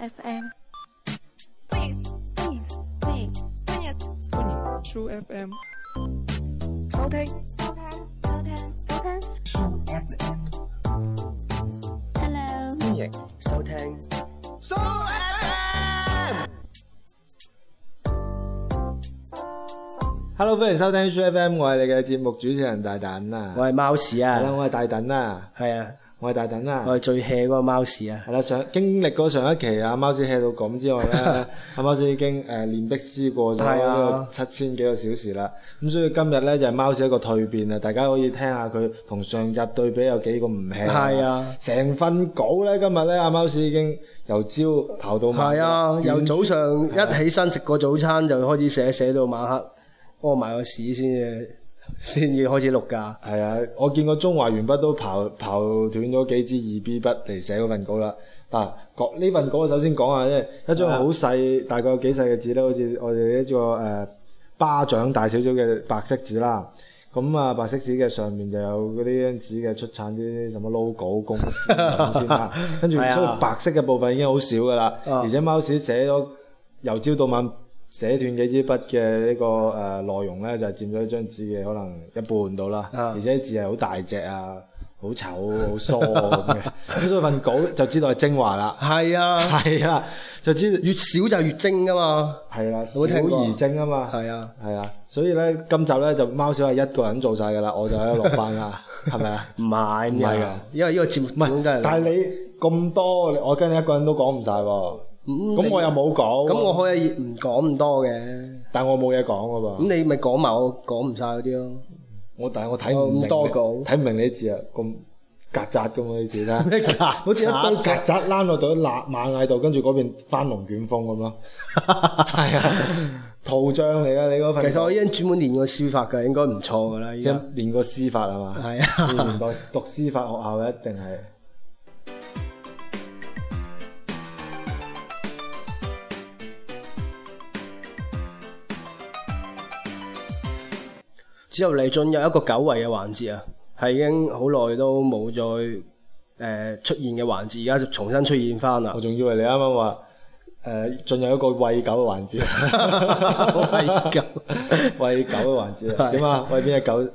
FM。 True FM。 收聽。 Hello。 歡迎收聽。 Hello， 歡迎收聽 True FM， 我係你嘅節目主持人大躉啊。 我係貓屎啊。 係啦，我係大躉啊。 係啊， 我係大躉啊。 我係最 hea 嗰個貓屎啊。 係啦，經歷過上一期啊，貓屎 hea 到咁之外咧，阿貓屎已經練壁師過咗呢個7000幾個小時啦。咁所以今日咧就係貓屎一個蛻變啊！大家可以聽下佢同上集對比有幾個唔 hea。係啊，成份稿咧今日咧阿貓屎已經由朝刨到晚。係啊， 由早上一起身食個早餐就開始寫到晚黑。屙埋個屎先至開始錄㗎。係啊，我見過中華鉛筆都刨斷咗幾支2B 筆嚟寫嗰份稿啦。嗱，呢份稿我首先講下啫，一張好細，大概有幾細嘅紙咧，好似我哋一個巴掌大少少嘅白色紙啦。咁啊，白色紙嘅上面就有嗰啲張紙嘅出產啲什麼 logo 公司咁先啦。跟住所以白色嘅部分已經好少㗎啦，而且貓屎寫咗由朝到晚。寫斷幾支筆嘅呢個內容咧，就佔咗一張紙嘅可能一半到啦，而且字係好大隻啊，好醜好疏咁嘅，咁所以份稿就知道係精華啦。係啊，就知道越少就越精噶嘛。係啦，少而精啊嘛。係啊，所以咧今集咧就貓屎係一個人做晒噶啦，我就喺度落班啦，係咪啊？唔係㗎，因為呢個節目唔係，但係你咁多，我跟你一個人都講唔晒喎。咁我又冇講，咁我可以唔講咁多嘅，但我冇嘢講噶噃。咁你咪講埋我講唔晒嗰啲咯。但係我睇唔明，睇唔明你啲字啊，咁曱甴咁啊啲字啦，好似一堆曱甴躝落到螞蟻度，跟住嗰邊翻龍捲風咁咯。係啊，圖像嚟噶你嗰份。其實我已經專門練過書法㗎，應該唔錯㗎啦。即係練過書法係嘛？係啊，年代讀書法學校嘅一定係。 之後嚟進入一個久違嘅環節啊，係已經好耐都冇再出現嘅環節，而家就重新出現翻啦。我仲以為你啱啱話進入一個餵狗嘅環節，餵狗嘅環節點啊？餵邊隻狗？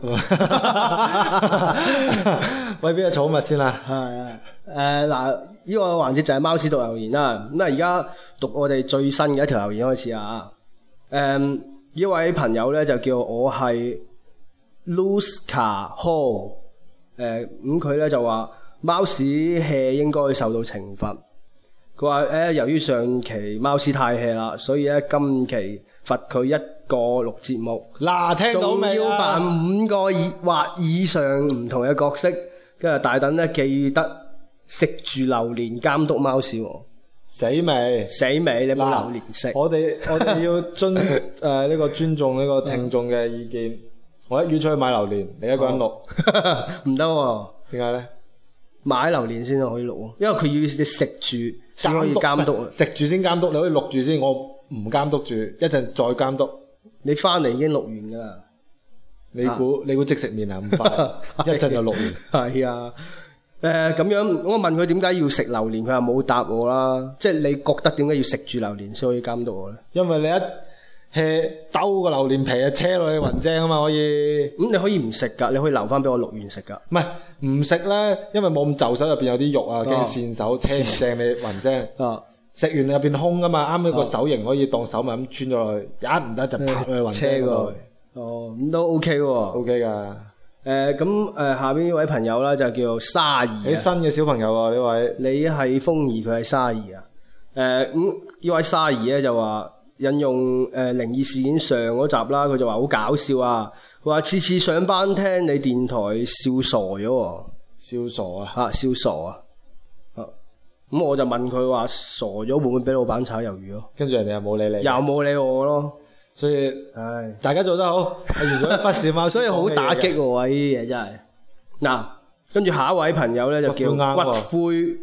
餵邊隻寵物先啦？係嗱，呢個環節就係貓屎讀留言啦。咁啊，而家讀我哋最新嘅一條留言開始啊。呢位朋友咧就叫我係。Luska Hall， 咁佢咧就話貓屎 hea 應該受到懲罰。佢話由於上期貓屎太 hea 啦，所以咧今期罰佢一個錄節目。嗱，聽到未啊？仲要扮5個或以上唔同嘅角色，跟住大躉咧記得食住榴蓮監督貓屎喎。死未？你冇榴蓮食。我哋要呢個尊重呢個聽眾嘅意見。我一於出去買榴蓮，你一個人錄唔得喎？點解咧？買榴蓮先可以錄喎，因為佢要你食住先可以監督。食住先監督，你可以錄住先，我唔監督住，一陣再監督。你翻嚟已經錄完㗎啦。你估即食麵啊咁快？一陣就錄完。係啊。咁樣我問佢點解要食榴蓮，佢話冇答我啦。即係你覺得點解要食住榴蓮先可以監督我咧？因為你一兜個榴蓮皮啊，車落去雲精啊嘛，可以。咁你可以唔食噶，你可以留翻俾我錄完食噶。唔係唔食咧，因為冇咁就手，入邊有啲肉啊，驚跣手，車唔正你雲精。食完入邊空噶嘛，啱啱個手型可以當手咪咁穿咗落去，一唔得就拍去雲精嗰度。咁都 OK 喎。OK 噶。咁下邊呢位朋友啦就叫沙兒。你新嘅小朋友啊呢位。你係風兒，佢係沙兒啊。咁呢位沙兒咧就話。引用靈異事件上嗰集啦，佢就話好搞笑啊！佢話次次上班聽你電台笑傻咗喎，笑傻啊！笑傻啊！咁我就問佢話傻咗會唔會俾老闆炒魷魚咯？跟住人哋又冇理你，又冇理我咯。所以大家做得好，完咗一忽視貓，所以好打擊喎！呢啲嘢真係。嗱，跟住下一位朋友咧就叫骨灰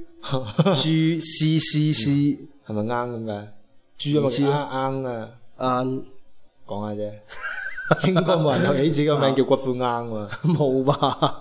GCCC，係咪啱咁嘅？豬有冇啱啊？啱講下啫，應該冇人有起自己個名叫骨灰啱喎。冇吧？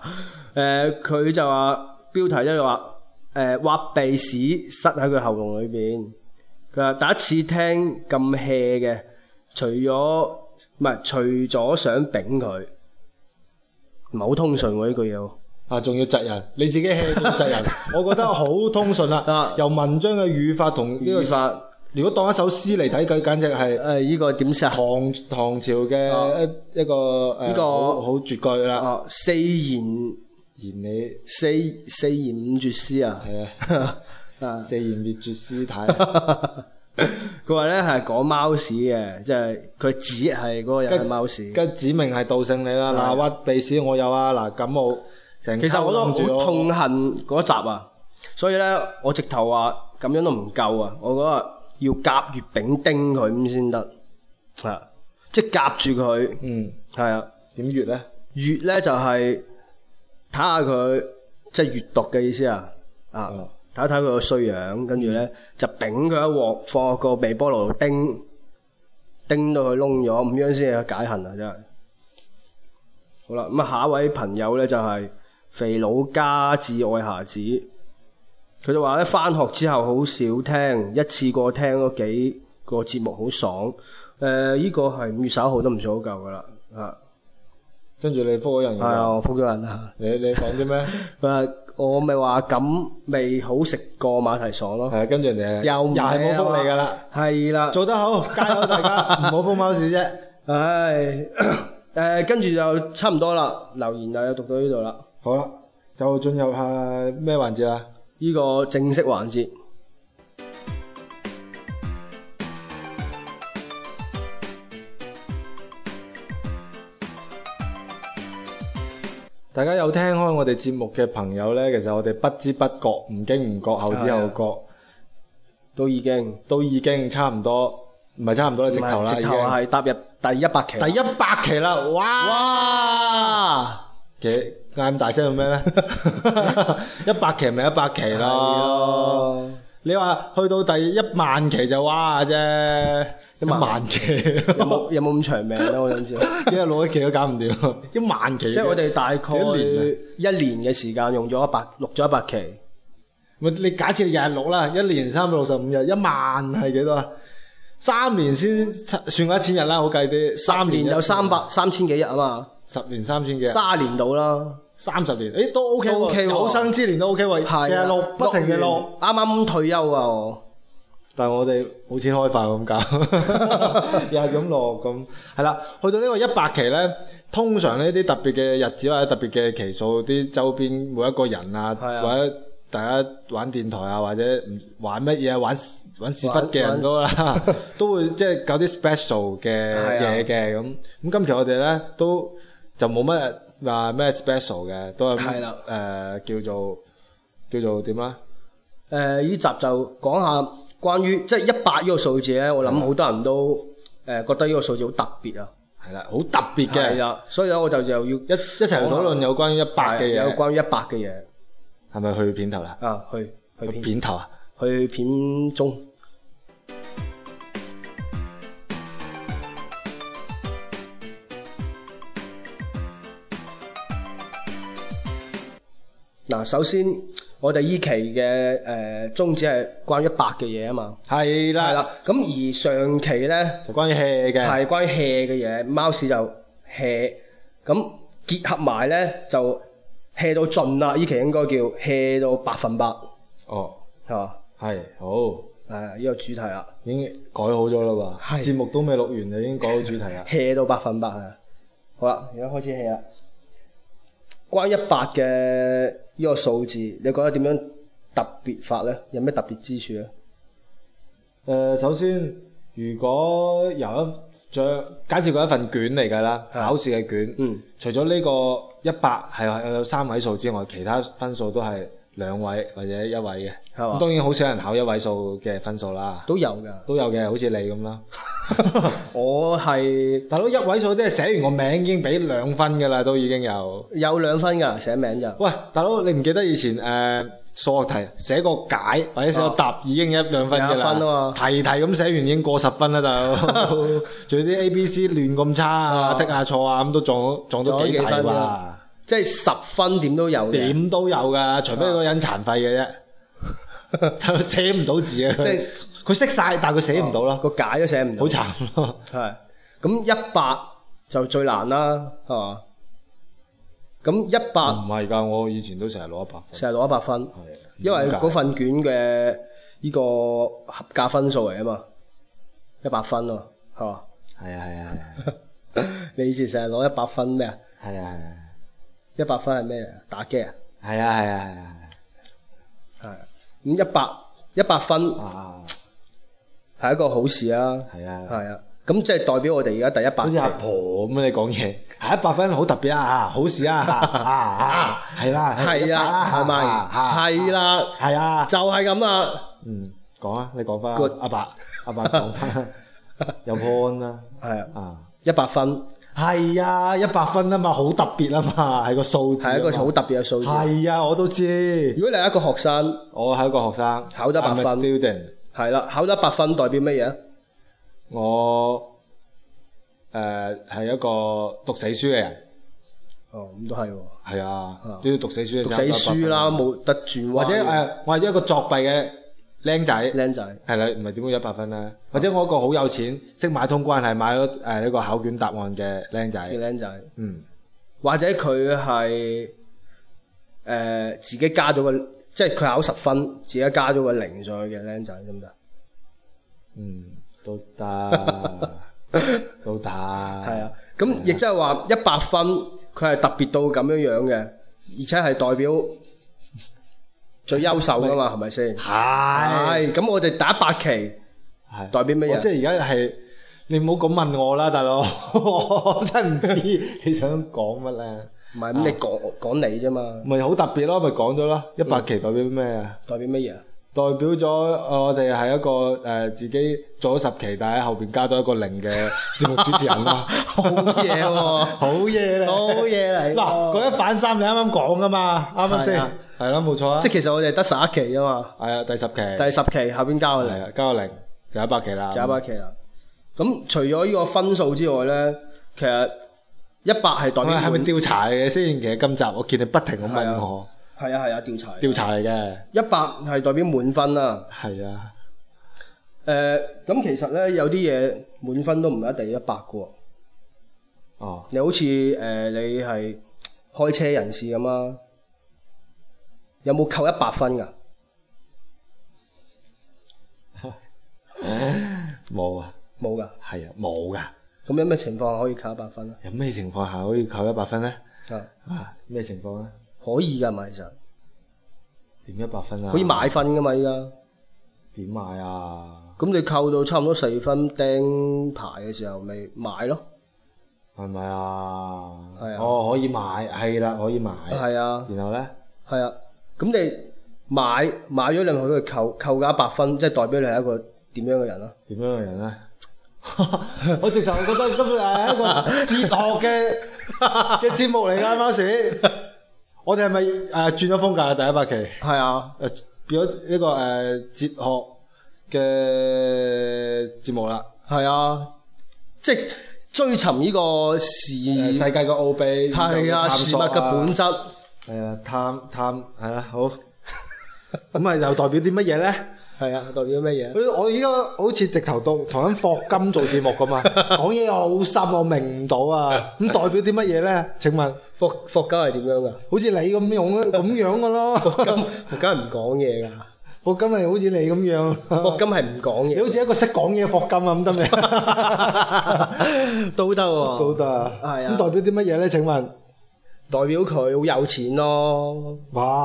佢就話標題咧就話挖鼻屎塞喺佢喉嚨裏邊， 佢話第一次聽咁 hea 嘅，除咗想丙佢，唔係好通順喎呢句嘢喎。 啊，仲要窒人，你自己 hea 仲窒人，我覺得好通順啦。由文章嘅語法同呢個語法， 如果當一首詩嚟睇，佢簡直係呢個點寫啊？ 唐朝嘅一個呢個好絕句啦。 四言你四言五絕詩啊！ 係啊，四言滅絕詩體。 佢話咧係講貓屎嘅，即係佢指係嗰個人係貓屎， 跟指明係道姓你啦。嗱，屈鼻屎我有啊，嗱感冒成。 其實我都好痛恨嗰集啊，所以咧我直頭話咁樣都唔夠啊，我覺得要甲乙丙丁佢咁先得，係即係夾住佢。係啊， 點乙咧？ 乙咧就係睇下佢即係閲讀嘅意思啊，睇一睇佢個衰樣，跟住咧就丙佢一鑊，放落個微波爐度叮到佢燶咗，咁樣先係解恨啊！真係好啦，咁啊下一位朋友咧就係肥佬家至愛孩子，佢就話咧返學之後好少聽，一次過聽嗰幾個節目好爽。呢個係5月11號都唔算好夠噶啦， 跟住你覆咗人， 係啊，我覆咗人啊。 你講啲咩？ 我咪話咁未好食過馬蹄爽咯。 係跟住人哋又係冇覆你噶啦。係啦，做得好，加油大家，唔好覆貓屎啫。 唉，跟住就差唔多啦，留言又讀到呢度啦。 好啦，就進入下咩環節啊？ 呢個正式環節。 大家有聽開我哋節目嘅朋友呢，其實我哋不知不覺、唔經唔覺、後知後覺，都已經差唔多，唔係差唔多啦，直頭啦， 直頭係踏入第100期。 第100期啦！哇！其實嗌咁大聲做咩呢？100期咪100期咯。你話去到第10000期就哇啫，1萬期有冇咁長命咧？我想知， 因為錄一期都搞唔掂，1萬期。 即係我哋大概一年嘅時間用咗錄咗100期。 你假設日日錄啦，一年365日，1萬係幾多啊？3年先算過1000日啦，好計啲。3年有3000幾日啊嘛。10年3000幾日。30年到啦。30年，都 OK 喎，有生之年都 OK 喎，日日錄，不停嘅錄，啱啱退休啊我。但係我哋冇錢開飯咁搞，又係咁錄咁，係啦。去到呢個100期咧，通常呢啲特別嘅日子或者特別嘅期數，啲周邊每一個人啊，或者大家玩電台啊，或者玩乜嘢玩屎忽嘅人都啦，都會即係搞啲 special 嘅嘢嘅咁。咁今期我哋咧都就冇乜話咩 special 嘅，都係叫做點啊？呢集就講下關於即係100呢個數字咧，我諗好多人都覺得呢個數字好特別啊。係啦，好特別嘅。係啦，所以咧我就又要一齊討論有關於100嘅嘢。有關於100嘅嘢。係咪去片頭啦？去片頭啊？去片中。嗱，首先我哋依期嘅宗旨係關於100嘅嘢啊嘛，係啦，咁而上期咧就關於 hea 嘅，係關於 hea 嘅嘢，貓屎就 hea，咁結合埋咧就 hea 到盡啦，依期應該叫 hea 到100%，哦，係嘛？係好，呢個主題啦，已經改好咗啦喎，節目都未錄完就已經改好主題啦，hea 到100%係，好啦，而家開始 hea 啦。關於100嘅呢個數字，你覺得點樣特別法咧？有咩特別之處咧？首先，如果由假設佢一份卷嚟㗎啦，考試嘅卷，除咗呢個100係有3位數之外，其他分數都係2位或者1位嘅。咁當然好少人考1位數嘅分數啦。都有嘅，好似你咁啦。我係大佬1位數，即係寫完個名已經俾2分㗎啦，都已經有2分㗎，寫名就。喂，大佬你唔記得以前數學題寫個解或者寫個答已經1-2分㗎啦？1分啊嘛。題咁寫完已經過10分啦，大佬。仲有啲 A、B、C 亂咁差啊，剔下錯啊，咁都撞到幾題喎。即係10分點都有嘅。點都有㗎，除非嗰個人殘廢嘅啫。寫唔到字啊！即係佢識晒，但係佢寫唔到咯， 個解都寫唔到， 好慘咯。 係咁100就最難啦，係嘛？咁唔 100 係㗎，我以前都成日攞100分， 成日攞100分， 係因為嗰份卷嘅呢個合格分數嚟啊嘛，100分啊，係嘛？ 係啊， 你以前成日攞100分咩啊係啊， ？100分係咩嚟？打機啊？ 係啊， 係。咁100分啊， 係一個好事啊！ 係啊， 係啊，咁即係代表我哋而家第100 好似阿婆咁樣你講嘢，係100分好特別啊，好事啊，係啦， 係啊，係咪？係啦， 係啊， 就係咁啦。 講啊，你講翻 Good 阿伯講翻，有 point 啦， 係啊， 啊， 100分係啊，100分啊嘛，好特別啊嘛，係個數字， 係一個好特別嘅數字。 係啊，我都知。 如果你係一個學生， 我係一個學生， 考得100分 I'm a student， 係啦，考得100分代表乜嘢啊？ 我係一個讀死書嘅人。 哦，咁都係喎。 係啊，都要讀死書嘅時讀候死書啦，冇得轉彎。 或者我係一個作弊嘅僆仔， 僆仔係啦，唔係點會100分咧？或者我一個好有錢，識買通關係，買咗呢個考卷答案嘅僆仔， 嘅僆仔，或者佢係自己加咗個，即係佢考10分，自己加咗個0上去嘅僆仔，得唔得？ 都得，都得。 係啊，咁亦即係話100分，佢係特別到咁樣嘅，而且係代表最優秀噶嘛，係咪先？係。咁我哋第100期係代表乜嘢？ 即係而家係你唔好咁問我啦，大佬，我真係唔知你想講乜咧。 唔係咁，你講你啫嘛。 咪好特別咯，咪講咗咯。100期代表咩啊？ 代表乜嘢？ 代表咗我哋係一個自己做咗10期，但係喺後邊加多一個0嘅節目主持人啦。 好嘢喎！ 好嘢嚟， 好嘢嚟。 嗱，嗰一反三你啱啱講噶嘛，啱唔啱先？係啦，冇錯啊。 即係其實我哋得11期啊嘛。係啊，第10期。 第10期後邊加個0。 係啊，加個0就100期啦。 就100期啦。咁除咗呢個分數之外咧，其實100係代表係咪調查嚟嘅先？其實今集我見你不停咁問我。 係啊， 調查嚟嘅。 100係代表滿分啦。 係啊。 咁其實咧有啲嘢滿分都唔一定100嘅喎。 哦。 你好似你係開車人士咁啊，有冇扣100分㗎？ 冇啊。 冇㗎。 係啊，冇㗎。 咁有咩情況下可以扣100分咧？ 有咩情況下可以扣100分咧？咩情況咧？ 可以㗎嘛，其實。 點100分啊？ 可以買分㗎嘛，依家。 點買啊？ 咁你扣到差唔多4分釘牌嘅時候，咪買咯。 係咪啊？ 係啊。 哦，可以買，係啦，可以買。 係啊。 然後咧？ 係啊。咁你買咗，你咪可以扣㗎100分，即係代表你係一個點樣嘅人啊？ 點樣嘅人咧？我直頭覺得今日係一個哲學嘅節目嚟㗎，貓屎。我哋係咪轉咗風格啦？第100期係啊， 變咗呢個哲學嘅節目啦。 係啊，即係追尋呢個世界嘅奧秘， 係啊，事物嘅本質。 係啊，探係啊，好。咁又代表啲乜嘢咧？ 係啊，代表乜嘢？ 我依家好似直頭同緊霍金做節目咁啊，講嘢好深，我明唔到啊。咁代表啲乜嘢咧？請問霍金係點樣噶？ 好似你咁樣噶咯。 霍金係唔講嘢噶。 霍金係好似你咁樣。 霍金係唔講嘢。 你好似一個識講嘢嘅霍金啊，咁得未？都得喎。都得。係啊。咁代表啲乜嘢咧？請問？ 代表佢好有錢咯。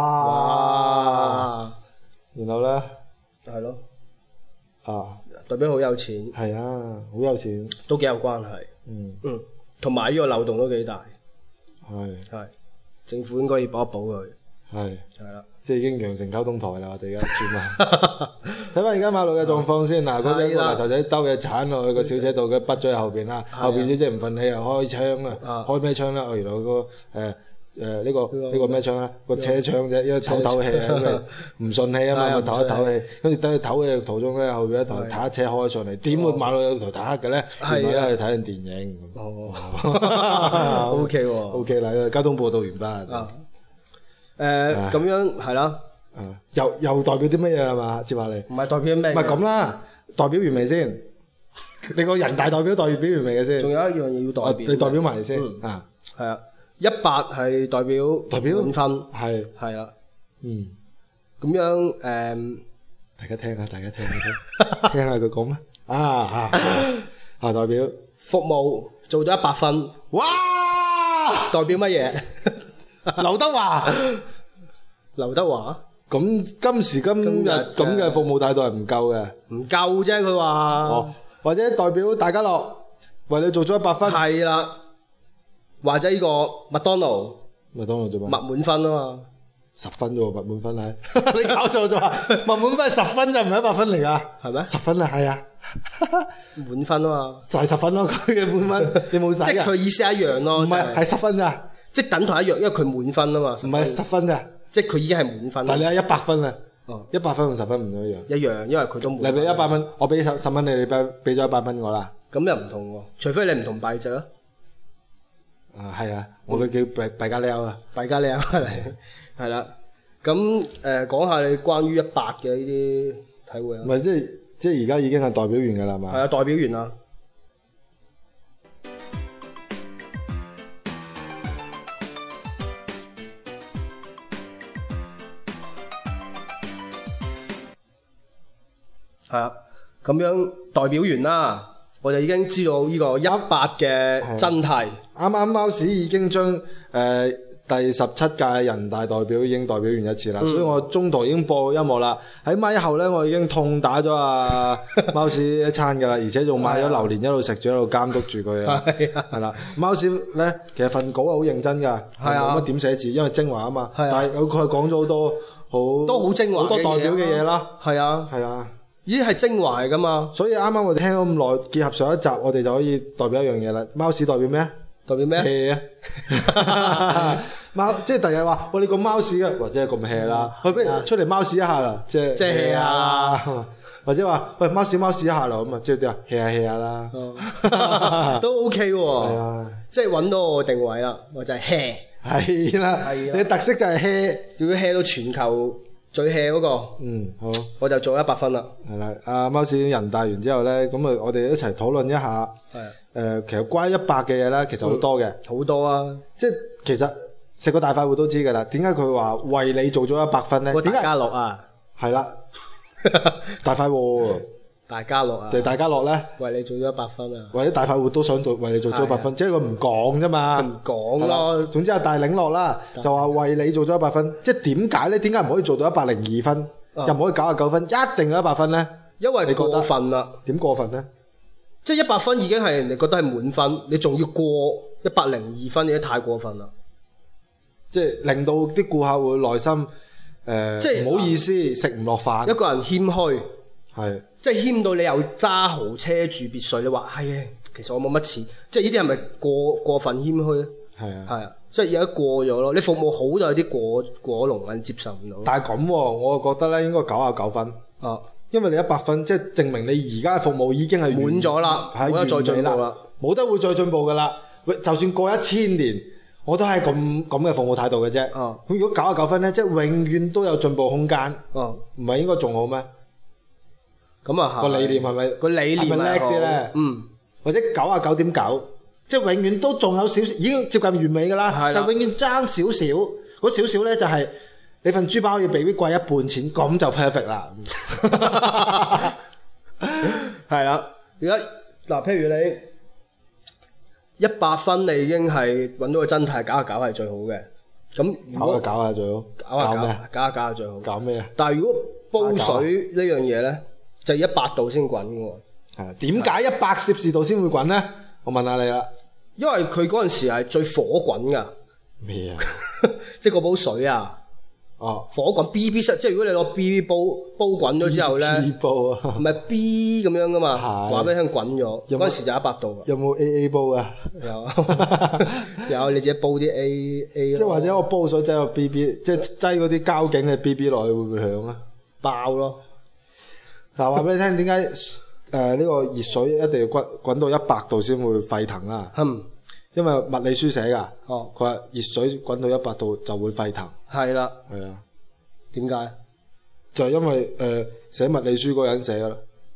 哇！然後咧？ 係咯。代表好有錢。 係啊，好有錢。 都幾有關係。同埋呢個漏洞都幾大。係。政府應該要補一補佢。係啦。 即係已經羊城溝通台啦，我哋而家轉啦。睇翻而家馬路嘅狀況先。嗱，嗰啲個泥頭仔兜嘢鏟落去個小姐度，佢畢咗喺後邊啦。後邊小姐唔忿氣又開槍啊！開咩槍咧？原來個呢個咩槍咧？個車窗啫，因為唞氣啊，咁啊唔順氣啊嘛，咪唞一唞氣。跟住等佢唞氣嘅途中咧，後邊一台坦克車開上嚟，點會馬路有台坦克嘅咧？原來咧去睇緊電影。 O K 喎。 O K 啦，交通報道完畢。 咁樣係啦。 又代表啲乜嘢係嘛？接下嚟。 唔係代表咩？ 唔係咁啦。 代表完未先？你個人大代表完未嘅先？ 仲有一樣嘢要代表， 你代表埋先啊？ 係啊，100係代表滿分，係啦，咁樣大家聽下聽下佢講咩？代表服務做到100分， 哇！ 代表乜嘢？ 劉德華。 劉德華咁今時今日咁嘅服務態度係唔夠嘅， 唔夠啫，佢話。 或者代表大家樂為你做咗100分， 係啦，或者呢個麥當勞做咩？ 麥滿分啊嘛 ，10分啫喎，麥滿分係你搞錯咗啊！麥滿分係10分就唔係100分嚟㗎，係咩？10分啊，係啊， 滿分啊嘛， 就係10分咯，佢嘅滿分你冇使即係佢意思一樣咯， 唔係10分咋， 即係等同一樣，因為佢滿分啊嘛， 唔係10分咋， 即係佢已經係滿分。 但係你係100分啊，100分同10分唔一樣。 一樣，因為佢都滿分。 你俾100蚊，我俾10蚊你俾咗100蚊我啦。 咁又唔同喎，除非你唔同幣值啊。 係啊，我佢叫幣加撩啊。 幣加撩係啦。咁講下你關於100嘅呢啲體會啊。 唔係即係而家已經係代表完㗎啦嘛。 係啊，代表完啦。係啊，咁樣代表完啦，我就已經知道呢個100嘅真諦。 啱啱貓屎已經將第17屆人大代表已經代表完一次啦，所以我中途已經播音樂啦。喺咪後咧，我已經痛打咗貓屎一餐㗎啦，而且仲買咗榴蓮一路食住一路監督住佢啊。係啦，貓屎咧其實份稿係好認真㗎，冇乜點寫字，因為精華啊嘛。但係佢係講咗好多都好精華好多代表嘅嘢啦。 係啊。咦，係精華嚟噶嘛？ 所以啱啱我哋聽咗咁耐，結合上一集，我哋就可以代表一樣嘢啦。貓屎代表咩？ 代表咩 ？hea 啊！貓即係第日話，你個貓屎啊，或者係咁 hea 啦，不如出嚟貓屎一下啦，即係 hea 啊！ 或者話喂貓屎一下啦，咁啊即係點啊 hea 下啦， 都 OK 喎。 係啊， 即係揾到我定位啦，我就係 hea。 係啦，你嘅特色就係 hea， 要 hea 到全球最 hea 嗰個。 好， 我就做100分啦。 係啦，阿貓屎人大完之後咧，咁啊，我哋一齊討論一下。其實關於100嘅嘢咧，其實好多嘅。好多啊！即係其實食個大快活都知㗎啦。點解佢話為你做咗100分咧？ 大家樂啊， 係啦，大快活。 大家樂啊， 就係大家樂咧， 為你做咗100分啊！ 或者大快活都想做為你做咗100分，即係佢唔講啫嘛。 唔講咯。總之係大領落啦，就話為你做咗100分。即係點解咧？點解唔可以做到102分，又唔可以99分，一定要100分咧？因為你過分啦。點過分咧？ 即係100分已經係人哋覺得係滿分，你仲要過102分，已經太過分啦。 即係令到啲顧客會內心即係唔好意思，食唔落飯。一個人謙虛，係即係謙到你又揸豪車住別墅，你話係啊，其實我冇乜錢，即係呢啲係咪過分謙虛咧？係啊，即係而家過咗咯。你服務好就有啲過龍，你接受唔到。但係咁，我覺得咧應該99分。因為你100分，即係證明你而家嘅服務已經係滿咗啦，冇得再進步啦，冇得會再進步噶啦。就算過1000年，我都係咁嘅服務態度嘅啫。咁如果99分咧，即係永遠都有進步空間。唔係應該仲好咩？咁啊，個理念係咪個理念係咪叻啲咧？或者99.9，即係永遠都仲有少少，已經接近完美噶啦。但係永遠爭少少，嗰少少咧就係。你份豬包要比貴一半錢，咁就 perfect 啦。係啦，而家嗱，譬如你100分，你已經係揾到個真諦，搞下係最好嘅。咁搞下最好，搞下最好。搞咩啊？但係如果煲水呢樣嘢咧，就要100度先滾嘅喎。係點解100攝氏度先會滾咧？我問下你啦。因為佢嗰陣時係最火滾㗎。咩啊？即係嗰煲水啊！火滾 B 即係如果你攞 B 煲滾咗之後咧，唔係 B 咁樣噶嘛，話俾你聽滾咗，嗰陣時就100度。有冇 AA 煲啊？有你自己煲啲 A。即係或者我煲水擠個 BB，即係擠嗰啲膠頸嘅 BB 落去會唔會響啊？爆咯！嗱，話俾你聽點解呢個熱水一定要滾到100度先會沸騰啊？因為物理書寫㗎，佢話熱水滾到100度就會沸騰。係啦，係啊，點解？就係因為寫物理書嗰人寫㗎啦。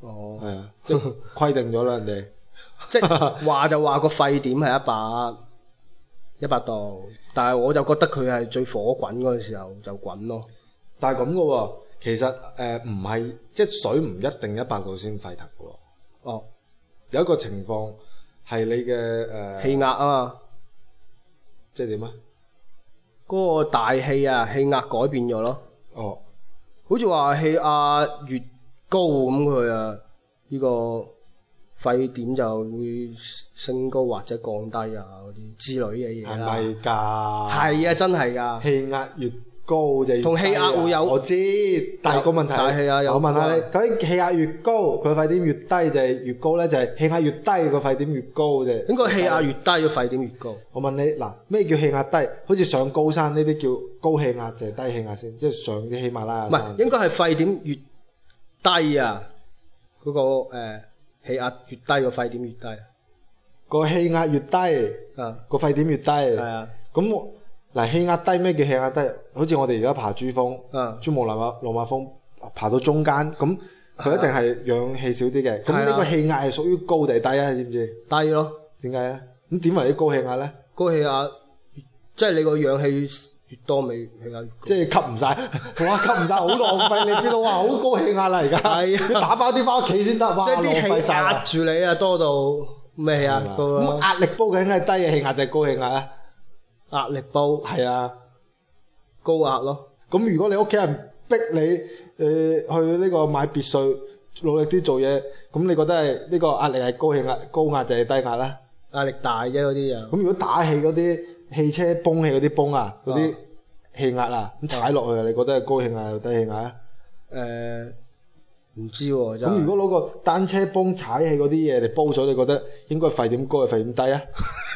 哦， 係啊，即係規定咗啦，人哋。 即係話就話個沸點係100度，但係我就覺得佢係最火滾嗰個時候就滾咯。 但係咁嘅喎，其實唔係，即係水唔一定100度先沸騰嘅喎。 哦， 有一個情況係你嘅氣壓啊嘛， 即係點啊？ 嗰個大氣啊，氣壓改變咗咯。 哦， 好似話氣壓越高咁佢啊，呢個沸點就會升高或者降低啊嗰啲之類嘅嘢啦。 係咪㗎？ 係啊，真係㗎。 氣壓越高就越低啊同氣壓會有我知，但係個問題大氣壓有我問下你，究竟氣壓越高，佢沸點越低定係越高咧？就係氣壓越低個沸點越高啫。 應該氣壓越低個沸點越高。 我問你嗱，咩叫氣壓低？好似上高山呢啲叫高氣壓，就係低氣壓先，即係上啲喜馬拉雅唔山。 係，應該係沸點越低啊，嗰個氣壓越低個沸點越低個氣壓越低， 啊。 個沸點越低。 係啊， 咁嗱，氣壓低咩叫氣壓低？好似我哋而家爬珠峰， 啊珠穆朗瑪峰爬到中間，咁佢一定係氧氣少啲嘅。咁呢個氣壓係屬於高定低啊？知唔知？ 低咯。 點解咧？咁點為啲高氣壓咧？ 高氣壓即係你個氧氣越多，咪氣壓越高。 即係吸唔晒，哇！吸唔晒好浪費，你 feel 到哇好高氣壓啦而家。 係啊要打包啲翻屋企先得，哇！ 即係啲浪費氣晒啦壓住你啊，多到咩氣壓高咁啊？ 壓力煲究竟係低嘅氣壓定係高氣壓啊？ 壓力煲係啊。 高壓咯。 咁如果你屋企人逼你去呢個買別墅，努力啲做嘢，咁你覺得係呢個壓力係高氣壓、高壓定係低壓咧？ 壓力大啫嗰啲就。 咁如果打氣嗰啲汽車泵氣嗰啲泵啊，嗰啲氣壓啊，咁踩落去，你覺得係高氣壓定低氣壓啊？ 唔知喎真係。 咁如果攞個單車泵踩氣嗰啲嘢嚟煲水，你覺得應該沸點高定沸點低啊？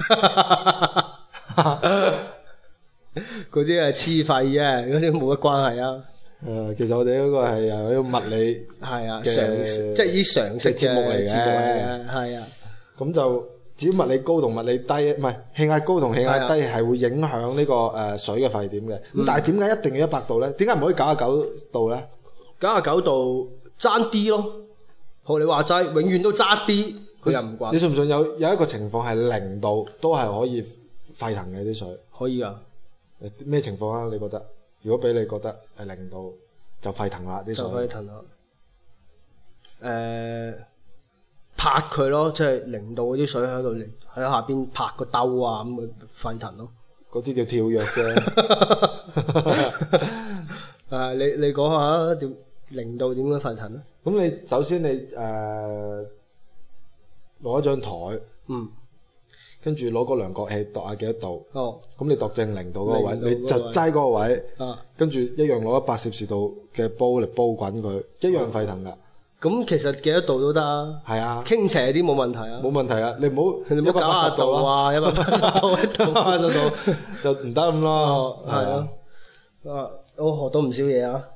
嗰啲係黐肺啫，嗰啲冇乜關係啊。 其實我哋嗰個係有啲物理係啊， 嘅常識即係啲常識節目嚟嘅節目嚟嘅，係啊。 咁就至於物理高同物理低，唔係氣壓高同氣壓低係會影響呢個水嘅沸點嘅。咁但係點解一定要100度咧？點解唔可以99度咧 99度爭啲咯，學你話齋，永遠都爭啲，佢又唔慣。 你信唔信有一個情況係0度都係可以沸騰嘅啲水？ 可以啊。 咩情況啊？你覺得？如果俾你覺得係0度就沸騰啦啲水， 就可以騰啦。拍佢咯，即係0度嗰啲水喺度喺下邊拍個兜啊，咁咪沸騰咯。 嗰啲叫跳躍啫。 你講下點0度點樣沸騰咧？ 咁你首先你攞一張台，跟住攞個量角器度下幾多度。 哦。咁你度正0度嗰個位， 0度你就擠嗰個位， 啊， 跟住一樣攞100攝氏度嘅煲嚟煲滾佢，一樣沸騰噶。 咁其實幾多度都得啊。 係啊。 傾斜啲冇問題啊。 冇問題啊！你唔好 90度啊，180度 180度就唔得咁咯。 係啊。我學到唔少嘢啊。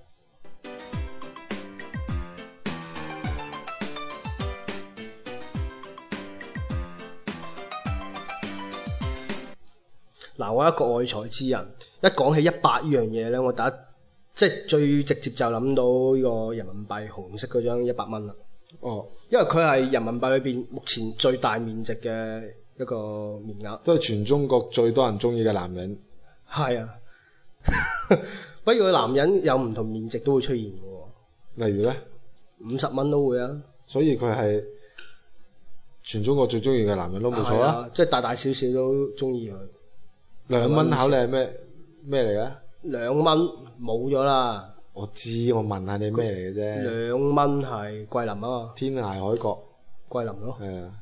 嗱，我一個愛才之人，一講起100呢樣嘢咧，我即係最直接就諗到呢個人民幣紅色嗰張100蚊啦。哦，因為佢係人民幣裏邊目前最大面值嘅一個面額， 都係全中國最多人中意嘅男人。 係啊，不過男人有唔同面值都會出現嘅喎。 例如咧 ，50蚊都會啊。所以佢係全中國最中意嘅男人都冇錯啦。 即係大大小小都中意佢。 2蚊考你係咩嚟嘅？2 蚊冇咗啦。 我知，我問下你咩嚟嘅啫。 2蚊係桂林啊嘛。 天涯海角。 桂林咯。 係啊。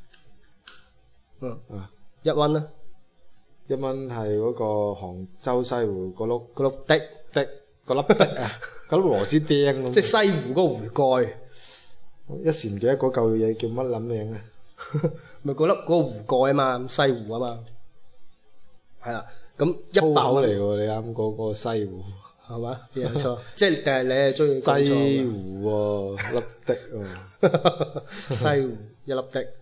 1蚊咧 ？1蚊係嗰個杭州西湖嗰粒嗰粒的嗰粒的啊，嗰粒螺絲釘咁。 即係西湖嗰個壺蓋。 一時唔記得嗰嚿嘢叫乜撚名啊？ 咪嗰個壺蓋啊嘛，西湖啊嘛。係啦，咁粗口嚟喎，你啱講嗰個西湖係嘛？有錯，即係但係你係中意西湖喎，粒的喎， 西湖一粒的，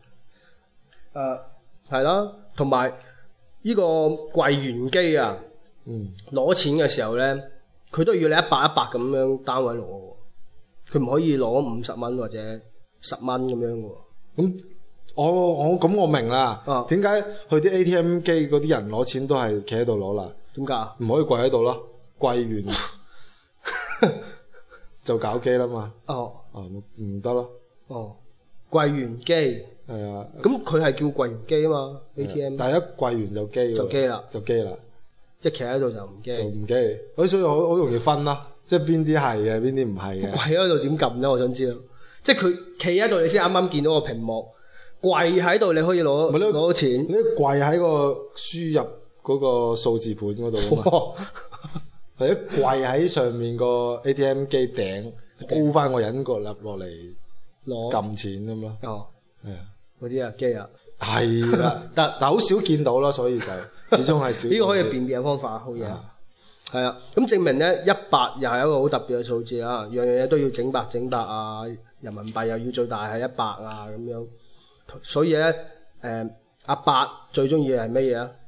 係啦，同埋呢個櫃員機啊，攞錢嘅時候咧，佢都要你100咁樣單位攞喎，佢唔可以攞50蚊或者 10蚊咁樣喎。 咁我明啦。點解去啲 ATM 機嗰啲人攞錢都係企喺度攞啦？ 點解？ 唔可以跪喺度咯，跪完就搞機啦嘛。唔得咯。 跪完機。 係啊。 咁佢係叫跪完機啊嘛 ，ATM。 但係一跪完就機。就機啦。即係企喺度就唔機。 所以好容易分啦。即係邊啲係嘅，邊啲唔係嘅。 跪喺度點撳咧？我想知道。即係佢企喺度，你先啱啱見到個屏幕。跪喺度你可以攞到錢。 你跪喺個輸入嗰個數字盤嗰度啊嘛。係一跪喺上面個 ATM 機頂，鋪翻個人個粒落嚟攞撳錢咁咯。係啊， 嗰啲啊機啊。 係啦，但好少見到咯，所以就始終係少。 呢個可以辨別嘅方法，好嘢。係啊，咁證明咧100又係一個好特別嘅數字啊，樣樣嘢都要整百啊，人民幣又要最大係100啊咁樣。所以咧，阿伯最中意嘅係乜嘢啊？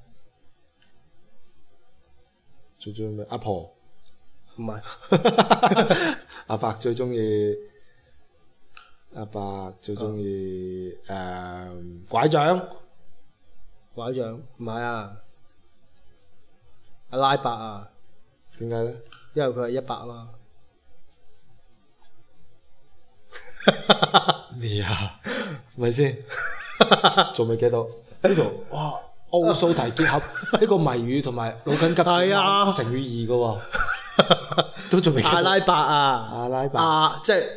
最中意咩？阿婆？ 唔係。 阿伯最中意拐杖。 拐杖唔係啊，阿拉伯啊。 點解咧？ 因為佢係100啊嘛。 咩啊？咪先？仲未記到呢度？哇！奧數題結合呢個謎語同埋腦筋急轉彎成語2嘅喎，都仲未記到。 阿拉伯啊，即係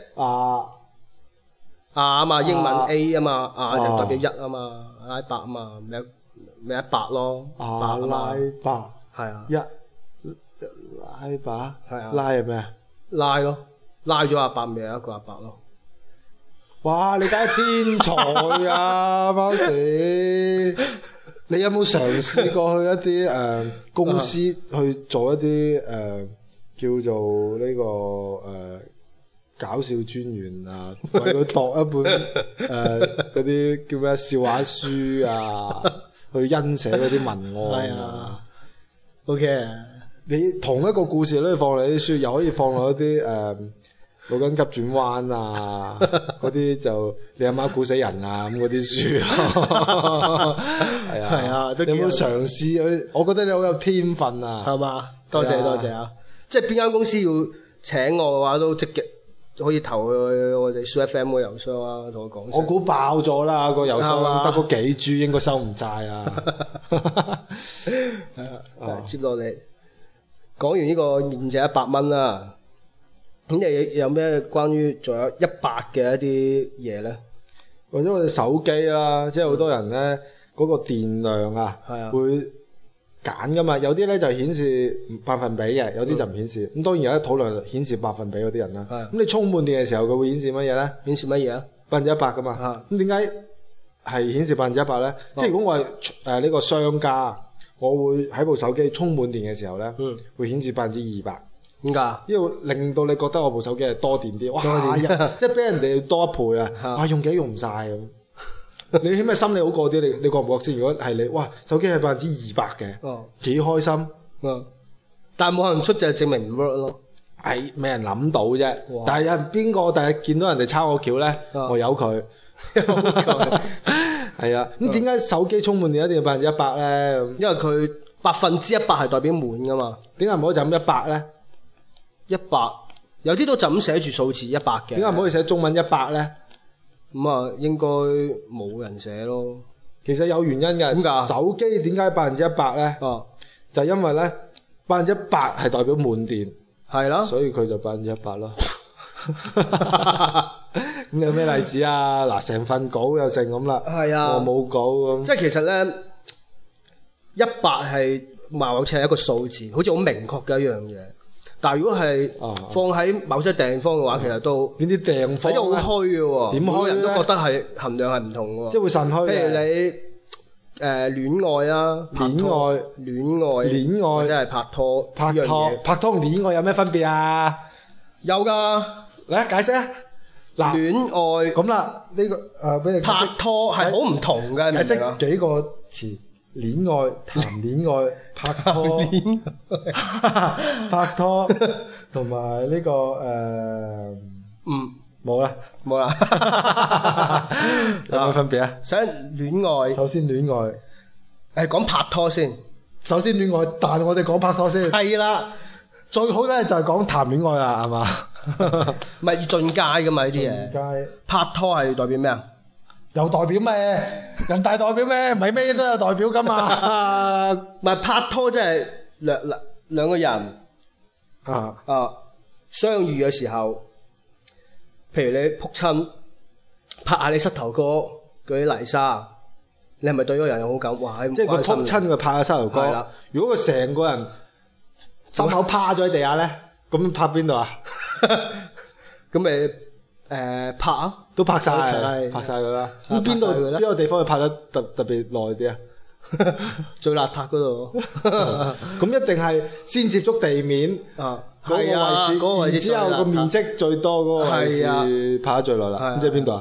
啊嘛，英文 A 啊嘛，就代表1啊嘛，阿拉伯啊嘛，咪100咯。 阿拉伯係啊。 拉伯係啊。拉係咩啊？ 拉咯，拉咗阿伯咪有一個阿伯咯。 哇！你梗係天才啊，貓屎！你有冇嘗試過去一啲公司去做一啲叫做呢個搞笑專員啊，為佢度一本嗰啲叫咩笑話書啊，去欣寫嗰啲文案啊。 OK 啊！ 你同一個故事都可以放落啲書，又可以放落一啲腦筋急轉彎啊，嗰啲就你阿媽估死人啊咁嗰啲書咯。係啊，你有冇嘗試去？我覺得你好有天分啊， 係嘛？多謝啊！即係邊間公司要請我嘅話，都積極可以投去我哋 SooFM 個郵箱啊，同我講。 我估爆咗啦，個郵箱得嗰幾 G 應該收唔晒啊。 接落嚟講完呢個面值100蚊啦。咁你有咩關於仲有100嘅一啲嘢咧？ 或者我哋手機啦，即係好多人咧嗰個電量啊，會揀噶嘛。有啲咧就顯示百分比嘅，有啲就唔顯示。咁當然有得討論顯示百分比嗰啲人啦。咁你充滿電嘅時候，佢會顯示乜嘢咧？顯示乜嘢啊？100%噶嘛。咁點解係顯示100%咧？即係如果我係呢個商家，我會喺部手機充滿電嘅時候咧，會顯示200%。點解？因為令到你覺得我部手機係多電啲，哇！即係比人哋多一倍啊！哇，用幾用唔晒咁。你起碼心理好過啲，你覺唔覺先？如果係你，哇，手機係200%嘅，幾開心。 但係冇人出就證明唔 work 咯。 係未人諗到啫。但係有邊個第日見到人哋抄我橋咧，我由佢。係啊，咁點解手機充滿電一定要100%咧？因為佢100%係代表滿噶嘛。點解唔可以就咁100咧？100有啲都就咁寫住數字100嘅。點解唔可以寫中文100咧？咁啊，應該冇人寫咯。其實有原因嘅。點解？手機點解100%咧？就因為咧100%係代表滿電。係咯。所以佢就100%咯。咁你有咩例子啊？嗱，成份稿又成咁啦。係啊。我冇稿咁。即係其實咧，100係貌似係一個數字，好似好明確嘅一樣嘢。但係如果係放喺某些地方嘅話，其實都邊啲地方咧？好虛嘅喎，點虛咧？人都覺得係衡量係唔同嘅喎，即係會腎虛嘅。譬如你戀愛啊，戀愛，或者係拍拖，拍拖同戀愛有咩分別啊？有㗎，嚟解釋啊！嗱，戀愛咁啦，呢個俾你拍拖係好唔同嘅，解釋幾個詞。戀愛、談戀愛、拍拖、拍拖，同埋呢個冇啦， 冇啦。 有咩分別啊？ 想戀愛， 首先戀愛， 講拍拖先。 首先戀愛，但我哋講拍拖先。 係啦， 最好咧就係講談戀愛啦，係嘛？ 唔係要進階噶嘛呢啲嘢。 街拍拖係代表咩啊？ 有代表咩？人大代表咩？唔係咩都有代表噶嘛？ 唔係拍拖即係兩個人啊， 相遇嘅時候，譬如你撲親拍下你膝頭哥嗰啲泥沙，你係咪對嗰個人有好感？哇！ 即係佢撲親佢拍下膝頭哥。 係啦。 如果佢成個人心口趴咗喺地下咧，咁拍邊度啊？ 咁咪拍啊？ 都拍晒， 一齊拍晒佢啦。 啊咁邊度拍晒佢啦邊個地方佢拍得特別耐啲啊？ 最邋遢嗰度。 咁一定係先接觸地面啊， 嗰係啊嗰個個位置， 位置然之後個面積最多嗰個位係啊置拍得最耐啦。咁即係邊度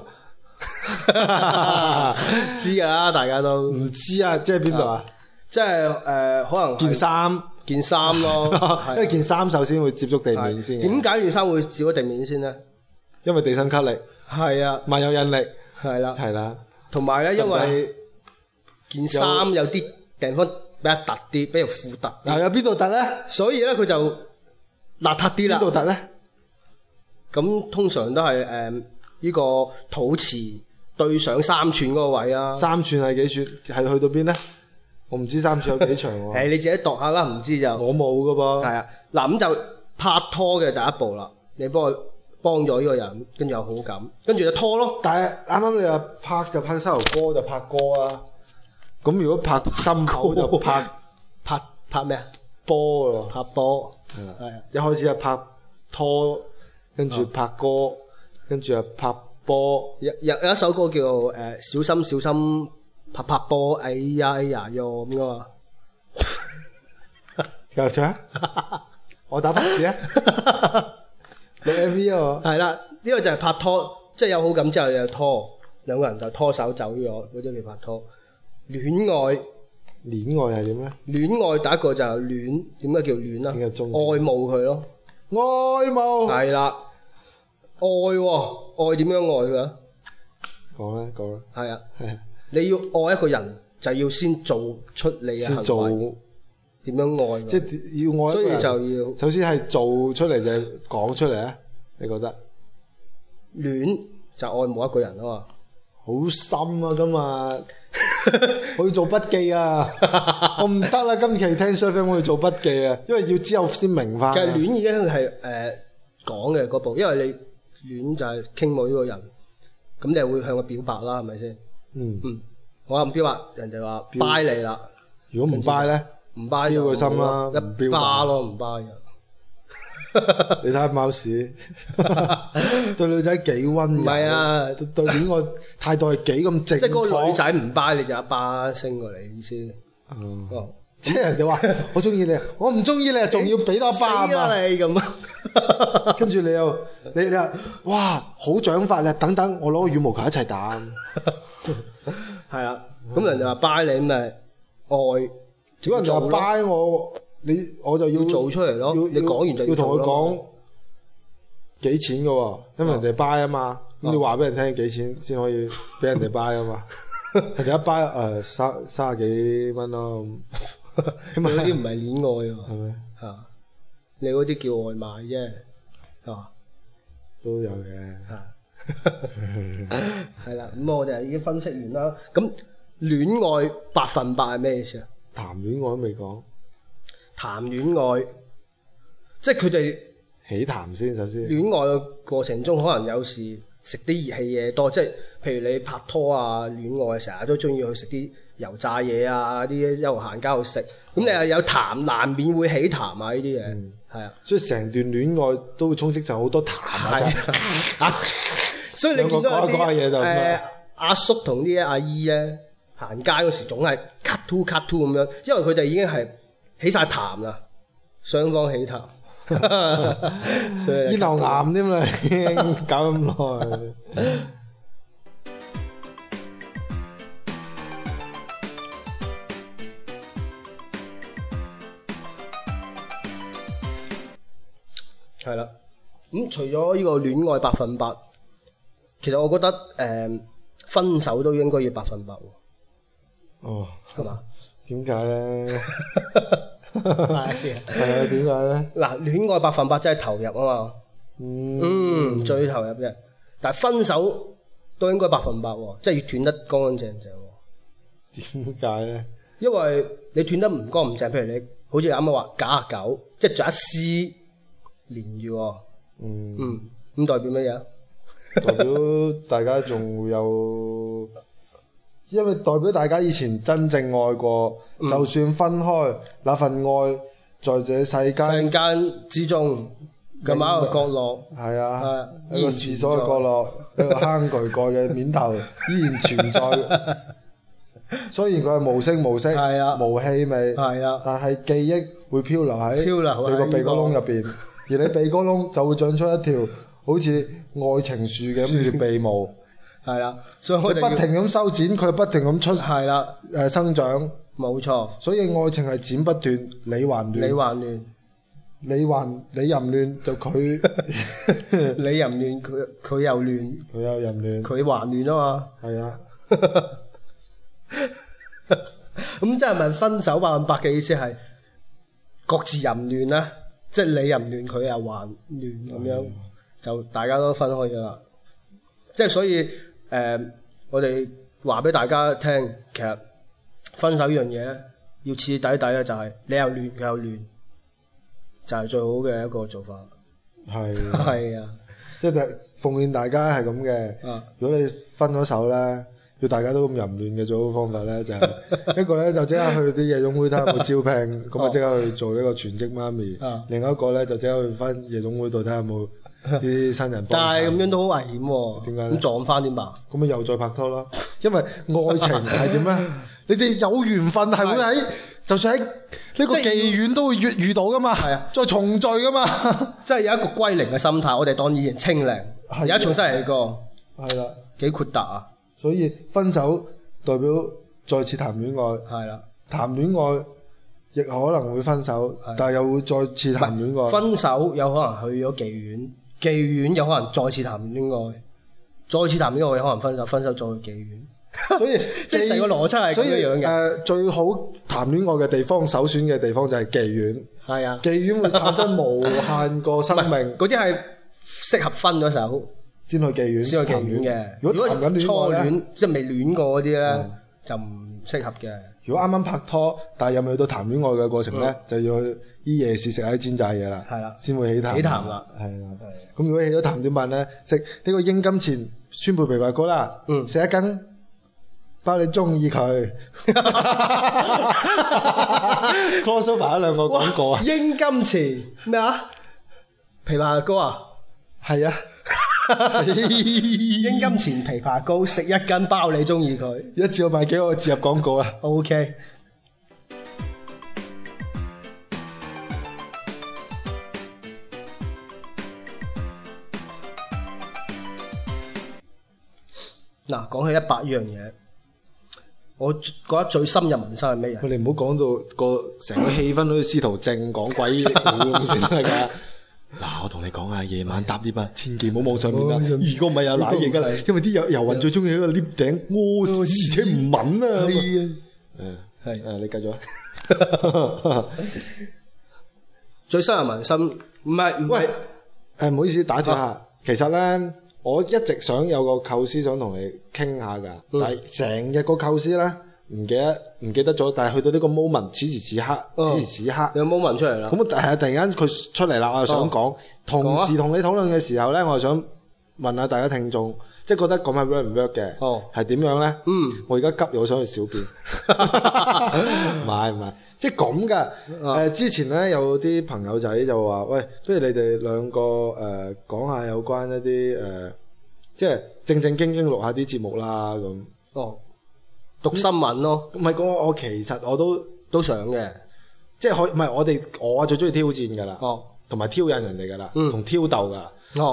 啊？ 知㗎啦，大家都唔知啊，即係邊度啊？ 即係可能件衫， 件衫咯， 因為件衫首先會接觸地面先嘅。 點解件衫會照咗地面先咧？ 因為地心吸力， 係啊， 萬有引力， 係啦， 係啦。 同埋咧，因為件衫有啲地方比較突啲，比較闊突啲， 嗱，有邊度突咧？ 所以咧佢就邋遢啲啦。 邊度突咧？ 咁通常都係呢個肚臍對上3寸嗰個位啊。 3寸係幾寸？係去到邊咧？我唔知3寸有幾長喎。 你自己度下啦，唔知就我冇噶噃。 係啊。嗱咁就拍拖嘅第一步啦，你幫咗呢個人，跟住有好感，跟住就拖咯。 但係啱啱你話拍就拍膝頭哥就拍歌啊，咁如果拍心口就拍咩啊？ 波咯， 拍波係啦， 係啊。 一開始係拍拖，跟住拍歌，跟住又拍波。 有一首歌叫小心小心拍波，哎呀哎呀喲咁噶嘛。 繼續唱，我打拍子啊！錄 MV 啊！ 係啦，呢個就係拍拖，即係有好感之後就拖，兩個人就拖手走咗，嗰啲叫拍拖。戀愛戀愛係點咧？ 戀愛第一個就係戀，點解叫戀啊？ 點解中意愛慕佢咯。 愛慕係啦，愛喎，愛點樣愛佢啊？ 講啦講啦， 係啊， 係你要愛一個人，就要先做出你嘅先做行為，點樣愛佢？ 即係要愛一個人。 所以就要首先係做出嚟就係講出嚟啊！你覺得？ 戀就愛慕一個人啊嘛。 好深啊！今日我要做筆記啊！我唔得啦，今期聽 SooFM 我要做筆記啊，因為要之後先明翻。 其實戀已經係講嘅嗰步，因為你戀就係傾慕呢個人，咁你係會向佢表白啦，係咪先？ 嗯， 我又唔表白，人哋話 buy 你啦。 如果唔 buy 咧， 唔 buy 就標個心啦一唔標巴咯，唔 buy 你睇下貓屎對女仔幾溫柔， 唔係啊， 對戀愛態度係幾咁正確。 即係嗰個女仔唔 buy 你就一巴升過嚟意思。哦， 即係人哋話我中意你，我唔中意你，仲要俾多一巴啊嘛！ 死啦你咁啊！ 跟住你話哇好長髮咧，等等我攞個羽毛球一齊打。 係啊，咁人哋話 buy 你咁咪愛， 如果人哋話做咯 buy 我就要做出嚟咯。你講完就要同佢做咯講幾錢嘅喎，因為人哋 buy 啊嘛。咁你話俾人聽幾錢先可以俾人哋 buy 啊嘛？人哋一 buy 30幾蚊咯。 你嗰啲唔係戀愛喎， 係咪？ 嚇你嗰啲叫外賣啫，嚇都有嘅。 係啦。咁我哋已經分析完啦。咁戀愛100%係咩意思啊？ 談戀愛都未講， 談戀愛，即係佢哋起談先首先。 戀愛嘅過程中，可能有時食啲熱氣嘢多，即係譬如你拍拖啊、戀愛成日都中意去食啲油炸嘢啊，啲一路行街去食，咁你又有談，難免會起談啊呢啲嘢，係啊， 所以成段戀愛都會充斥就好多談啊。 啊，所以你見到有講下嘢就啲阿叔同啲阿姨咧行街嗰時總係 cut to 咁樣，因為佢哋已經係起晒談啦，雙方起談。所以咽喉癌添啦，已經搞咁耐。 係啦，咁除咗呢個戀愛100%， 其實我覺得分手都應該要100%喎。 哦， 係嘛？ 點解咧？ 係啊， 點解咧？ 嗱，戀愛100%真係投入啊嘛。最投入嘅。但係分手都應該100%喎，即係要斷得乾乾淨淨喎。 點解咧？ 因為你斷得唔乾唔淨，譬如你好似啱啱話99，即係仲有一絲連住喎。咁代表乜嘢？ 代表大家仲會有，因為代表大家以前真正愛過，就算分開，那份愛在這世間之中嘅某一個角落， 係啊，一個廁所嘅角落，一個坑渠蓋嘅面頭依然存在。雖然佢係無聲無息、無氣味，但係記憶會漂流喺你個鼻哥窿入邊，而你鼻哥窿就會長出一條好似愛情樹嘅咁條鼻毛， 係啦，所以我哋不停咁修剪，佢不停咁出生長， 冇錯。 所以愛情係剪不斷，理還亂，你淫亂就佢， 你淫亂佢又亂， 佢又淫亂， 佢還亂啊嘛。 係啊。 咁即係咪分手100%嘅意思係各自淫亂咧？即係你淫亂，佢又還亂咁樣，就大家都分開咗啦。即係所以我哋話俾大家聽，其實分手呢樣嘢咧，要徹底嘅就係你又亂，佢又亂，就係最好嘅一個做法。係啊， 即係奉勸大家係咁嘅。如果你分咗手咧，要大家都咁淫亂嘅最好方法咧，就係一個咧就即刻去啲夜總會睇下有冇招聘，咁啊即刻去做呢個全職媽咪。另一個咧就即刻去翻夜總會度睇下有冇啲新人幫襯。 但係咁樣都好危險喎。點解？咁撞翻點辦？ 咁咪又再拍拖咯。因為愛情係點咧？你哋有緣分係會喺，就算喺呢個妓院都會遇到噶嘛。係啊，再重聚噶嘛。 即係有一個歸零嘅心態，我哋當以前清零，而家重新嚟過。係啦，幾豁達啊！ 所以分手代表再次談戀愛，係啦，談戀愛亦可能會分手，但係又會再次談戀愛。 分手有可能去咗妓院，妓院有可能再次談戀愛，再次談戀愛有可能分手，分手再去妓院。所以即係成個邏輯係咁樣嘅。 最好談戀愛嘅地方，首選嘅地方就係妓院。係啊，妓院會產生無限個生命。 嗰啲係適合分咗手先去妓院， 先去妓院嘅。如果初戀即係未戀過嗰啲咧，就唔適合嘅。 如果啱啱拍拖，但係又未去到談戀愛嘅過程咧，就要去依夜市食下啲煎炸嘢啦。係啦，先會起談。起談啦，係啦。咁如果起咗談點辦咧？食呢個鷹金錢川貝枇杷膏啦，食一斤，包你中意佢。crossover 兩個廣告啊！ 鷹金錢咩啊？枇杷膏啊？ 係啊。 鷹金錢枇杷膏，食一斤包你中意佢。 一次我買幾個植入廣告啊 ？OK。嗱，講起100呢樣嘢，我覺得最深入民心係咩嘢？ 你唔好講到個成個氣氛好似司徒正講鬼咁先得㗎。嗱，我同你講啊，夜晚搭 lift 啊，千祈唔好望上面啦。如果唔係有瀨嘢㗎啦，因為啲遊魂最中意喺個 lift 頂屙屎，而且唔聞啊。係你繼續啊。 最深入民心，唔係， 唔好意思打斷下。其實咧，我一直想有個構思想同你傾下㗎，但係成日個構思咧唔記得咗，但係去到呢個 moment，此時此刻， 有 moment 出嚟啦。 咁係突然間佢出嚟啦，我又想講，同時同你討論嘅時候咧，我又想問下大家聽眾，即係覺得咁係 work 唔 work 嘅？係點樣咧？我而家急，我想去小便。唔係，即係咁㗎。之前咧有啲朋友仔就話：喂，不如你哋兩個講下有關一啲即係正正經經錄下啲節目啦咁。 讀新聞咯， 唔係我其實我都想嘅， 即係唔係我最中意挑戰㗎啦，同埋挑釁人哋㗎啦，同挑逗㗎啦。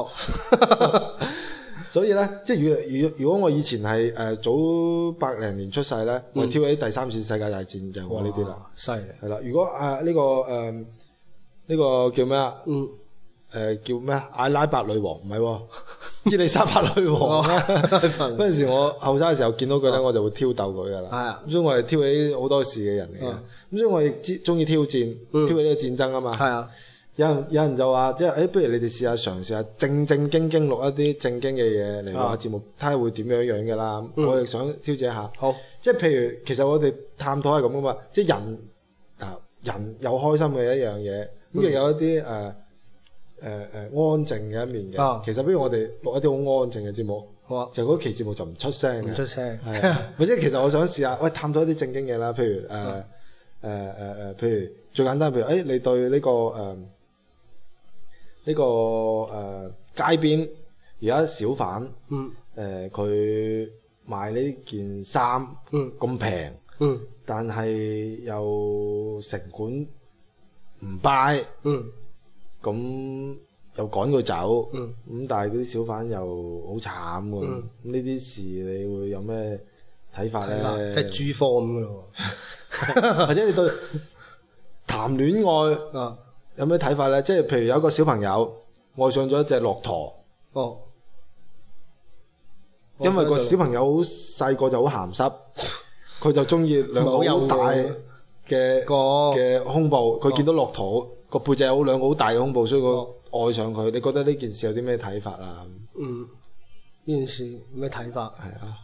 所以咧，即係如果我以前係早80零年出世咧，我挑起第3次世界大戰就係我呢啲啦。 犀利。 係啦，如果呢個叫咩啊？ 叫咩阿拉伯女王唔係喎，伊麗莎白女王咧。嗰陣時我後生嘅時候見到佢咧，我就會挑逗佢噶啦。 係啊， 所以我係挑起好多事嘅人嚟嘅。咁所以我亦中意挑戰，挑起呢個戰爭啊嘛。 係啊。 有人就話，即係不如你哋試嘗試下正經錄一啲正經嘅嘢嚟錄下節目，睇下會點樣嘅啦。我亦想挑戰一下。好，即係譬如其實我哋探討係咁噶嘛，即係人有開心嘅一樣嘢，咁亦有一啲安靜嘅一面嘅。其實不如我哋錄一啲好安靜嘅節目，就嗰期節目就唔出聲嘅。 唔出聲。 係，或者其實我想試下，喂，探討一啲正經嘢啦，譬如譬如最簡單，譬如你對呢個街邊而家小販，佢賣呢件衫咁平，但係又成本唔 buy，咁又趕佢走，咁但係嗰啲小販又好慘喎，咁呢啲事你會有咩睇法咧？ 即係豬科咁嘅咯， 或者你對談戀愛有咩睇法咧？即係譬如有一個小朋友愛上咗一隻駱駝，因為個小朋友好細個就好鹹濕，佢就中意兩個好大嘅胸部。佢見到駱駝個背脊有兩個好大嘅胸部，所以佢愛上佢。你覺得呢件事有啲咩睇法啊？ 呢件事咩睇法？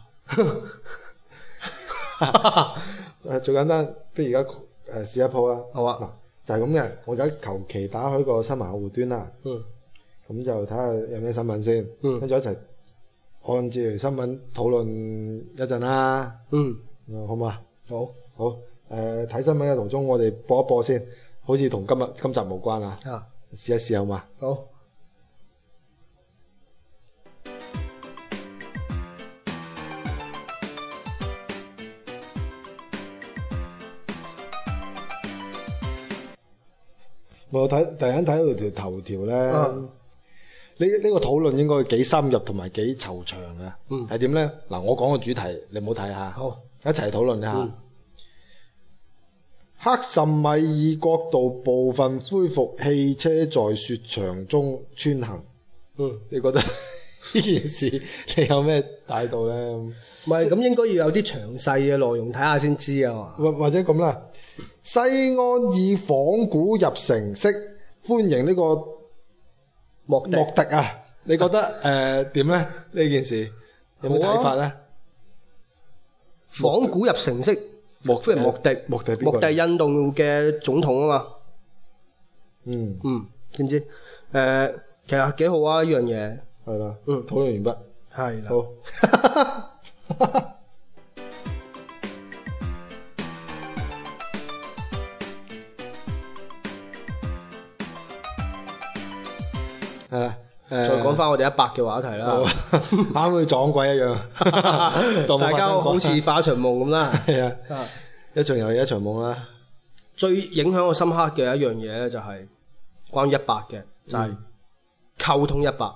係啊，最簡單，不如而家試一鋪啦。好啊，嗱就係咁嘅。我而家求其打開個新聞客戶端啦。咁就睇下有咩新聞先。跟住一齊按照新聞討論一陣啦。好唔好啊？好。睇新聞嘅途中，我哋播一播先，好似同今集無關啊。試一試好嘛？好。我突然間睇到條頭條咧，呢個討論應該幾深入同埋幾惆悵嘅。係點咧？嗱，我講個主題，你唔好睇下，好，一齊討論一下。克什米爾國度部分恢復汽車在雪場中穿行。你覺得呢件事你有咩態度咧？ 唔係，咁應該要有啲詳細嘅內容睇下先知啊嘛。 或者咁啦，西安以仿古入城式歡迎呢個莫迪啊！你覺得點咧？呢件事有咩睇法咧？ 仿古入城式歡迎莫迪印度嘅總統啊嘛。知唔知？其實幾好啊！呢樣嘢係啦。討論完畢。 係啦。 好。係啦， 再講翻我哋100嘅話題啦， 啱好似撞鬼一樣， 大家好似化場夢咁啦。 係啊，一場遊戲一場夢啦。 最影響我深刻嘅一樣嘢咧，就係關於100嘅，就係溝通100。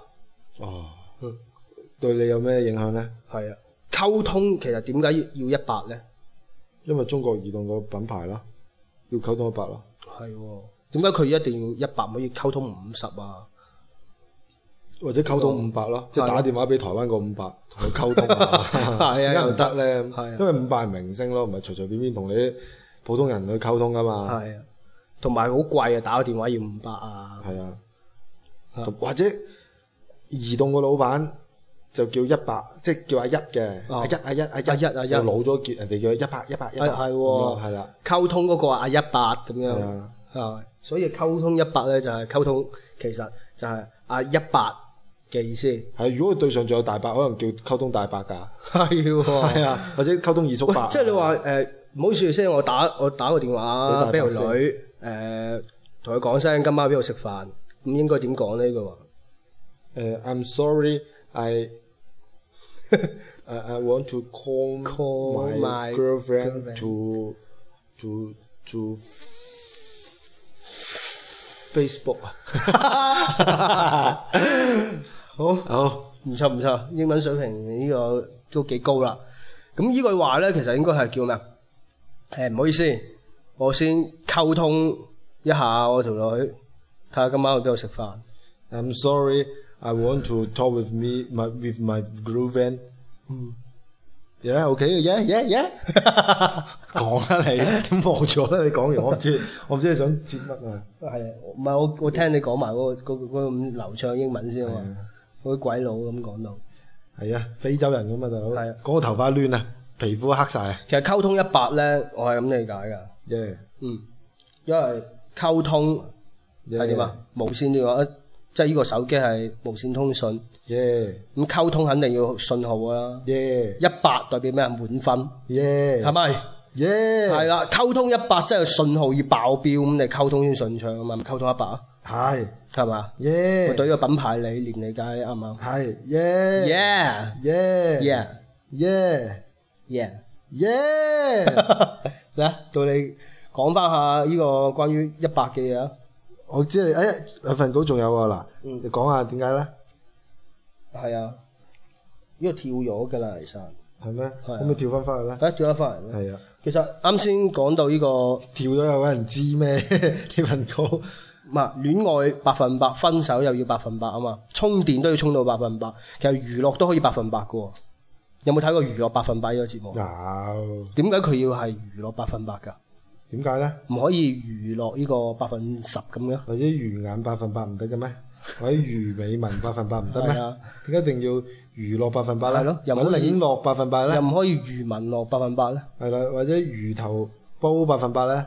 對你有咩影響咧？ 係啊，溝通其實點解要100咧？ 因為中國移動個品牌啦，要溝通100咯。 係，點解佢一定要100，唔可以溝通50啊？ 或者溝通500咯，即係打電話俾台灣個500同佢溝通啊，係啊，又得咧，因為500係明星咯，唔係隨隨便便同你啲普通人去溝通噶嘛。係啊，同埋好貴啊，打個電話要500啊。係啊，或者移動個老闆就叫100，即係叫阿一嘅，阿一，又老咗叫人哋叫100，係喎，係啦， 溝通嗰個阿100咁樣，係，所以溝通100咧就係溝通，其實就係阿100。嘅意思係，如果佢對上仲有大伯，可能叫溝通大伯㗎。係喎，係啊，或者溝通二叔伯。 即係你話唔好意思先，我打個電話俾條女，同佢講聲今晚邊度食飯，咁應該點講呢句話 ？I'm sorry, I want to call my girlfriend to Facebook 啊。好，唔錯， 英文水平呢個都幾高啦。咁呢句話咧，其實應該係叫咩？唔好意思，我先溝通一下我條女，睇下今晚去邊度食飯。 I'm sorry, I want to talk with my girlfriend。Yeah, OK， yeah。講啊你，咁望咗啦，你講完我唔知你想接乜啊？ 係啊，唔係我聽你講埋嗰個咁流暢英文先啊嘛，嗰啲鬼佬咁講到。 係啊，非洲人咁嘛，大佬。 係啊， 講個頭髮亂啊，皮膚黑晒啊。 其實溝通100咧，我係咁理解㗎。 Yeah。 因為溝通係點啊？無線電話，即係呢個手機係無線通訊。咁溝通肯定要信號㗎啦。100代表咩啊？滿分。係咪？係啦，溝通100即係信號要爆標，咁你溝通先順暢啊嘛。咪溝通100啊？係嘛？我對呢個品牌理念理解啱唔啱？ 係。 嚟到你講翻下呢個關於100嘅嘢啊！ 我知你有份稿仲有啊嗱，你講下點解咧？ 係啊，呢個跳咗㗎啦，其實係咩？可唔可以跳翻去咧？ 得跳翻嚟咧。 係啊， 其實啱先講到呢個跳咗有人知咩？呢份稿唔係戀愛100%，分手又要100%啊嘛，充電都要充到100%。其實娛樂都可以100%嘅喎。有冇睇過娛樂100%呢個節目？ 有。 點解佢要係娛樂100%㗎？ 點解咧？ 唔可以娛樂呢個10%咁嘅？ 或者魚眼100%唔得嘅咩？或者魚尾紋100%唔得咩？點解一定要娛樂100%咧？ 係咯，又唔可以領落100%咧？ 又唔可以魚紋落100%咧？ 係啦，或者魚頭煲100%咧？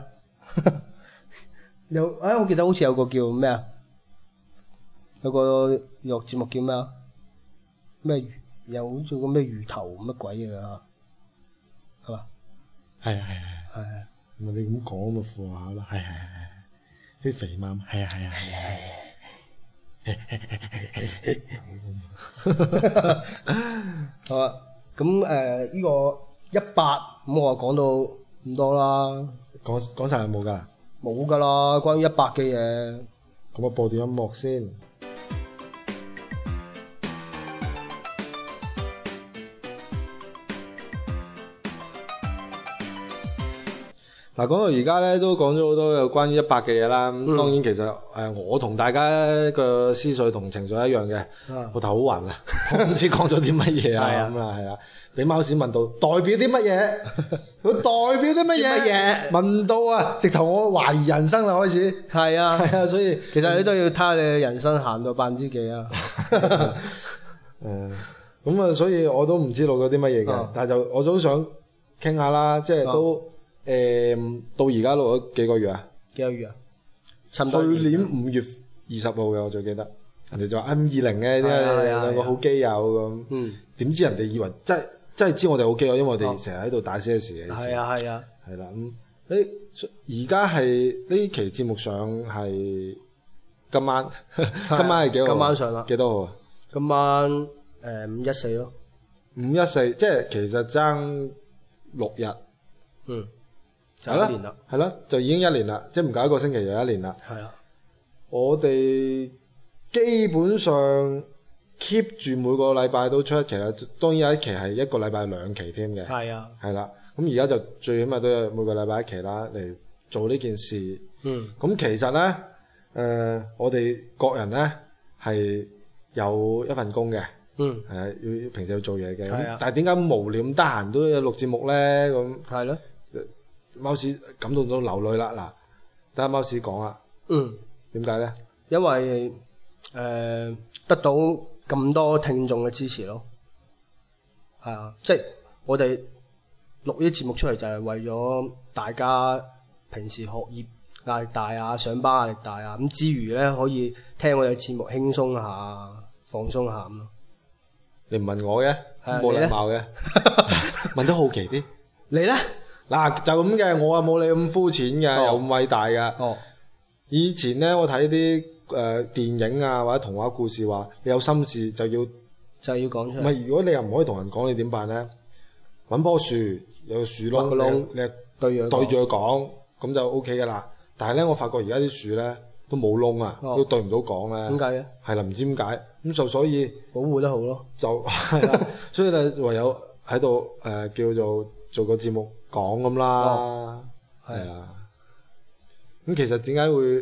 我記得好似有個叫咩啊？有個娛樂節目叫咩啊？咩魚？又好似個咩魚頭乜鬼嘢㗎？係嘛？ 係。 係。 你咁講咪附下咯，係，啲肥媽，係。 好啊，咁呢個100，咁我講到咁多啦。 講晒有冇㗎？ 冇㗎啦，關於100嘅嘢。 咁我播段音樂先。嗱，講到而家咧，都講咗好多有關於100嘅嘢啦。咁當然其實我同大家嘅思緒同情緒一樣嘅，我頭好暈啊，我唔知講咗啲乜嘢啊咁啊，係啦。俾貓屎問到代表啲乜嘢？佢代表啲乜嘢？問到啊，直頭我懷疑人生啦開始。 係啊， 所以其實你都要睇下你嘅人生行到幾%啊。 咁啊，所以我都唔知道咗啲乜嘢嘅，但係我都想傾下啦，即係都。到而家錄咗幾個月啊？ 幾個月啊？ 去年5月20號嘅，我最記得。人哋就話 M20嘅，兩個好基友咁。點知人哋以為真係知我哋好基友，因為我哋成日喺度打 CS 嘅。 係啊。 係啦，而家係呢期節目上係今晚，今晚係幾號？ 今晚上啦。幾多號啊？ 今晚514咯。 514，即係其實爭6日。 就1年啦， 係啦，就已經1年啦，即係唔夠1個星期就1年啦。 係啦， 我哋基本上 keep 住每個禮拜都出一期啦，當然有一期係1個禮拜2期添嘅。係啊，係啦，咁而家就最起碼都有每個禮拜1期啦，嚟做呢件事。咁其實咧，我哋各人咧係有一份工嘅。係啊，要平時要做嘢嘅。但係點解無聊咁得閒都有錄節目咧？咁係咯。貓屎感動到流淚啦！嗱，等下貓屎講啊。點解咧？因為得到咁多聽眾嘅支持咯。係啊，即係我哋錄呢啲節目出嚟就係為咗大家平時學業壓力大啊，上班壓力大啊，咁之餘咧可以聽我哋節目輕鬆下、放鬆下咁咯。你唔問我嘅，冇禮貌嘅，問得好奇啲。你咧？嗱，就咁嘅，我啊冇你咁膚淺嘅，又咁偉大嘅。以前咧，我睇啲電影啊或者童話故事話，你有心事就要講出嚟。唔係，如果你又唔可以同人講，你點辦咧？搵棵樹，有個樹窿，你對住佢講，咁就 OK 噶啦。但係咧，我發覺而家啲樹咧都冇窿啊，都對唔到講咧。點解嘅？係啦，唔知點解。咁就所以保護得好咯。就係啦，所以咧唯有喺度叫做個節目講咁啦。係啊。咁其實點解會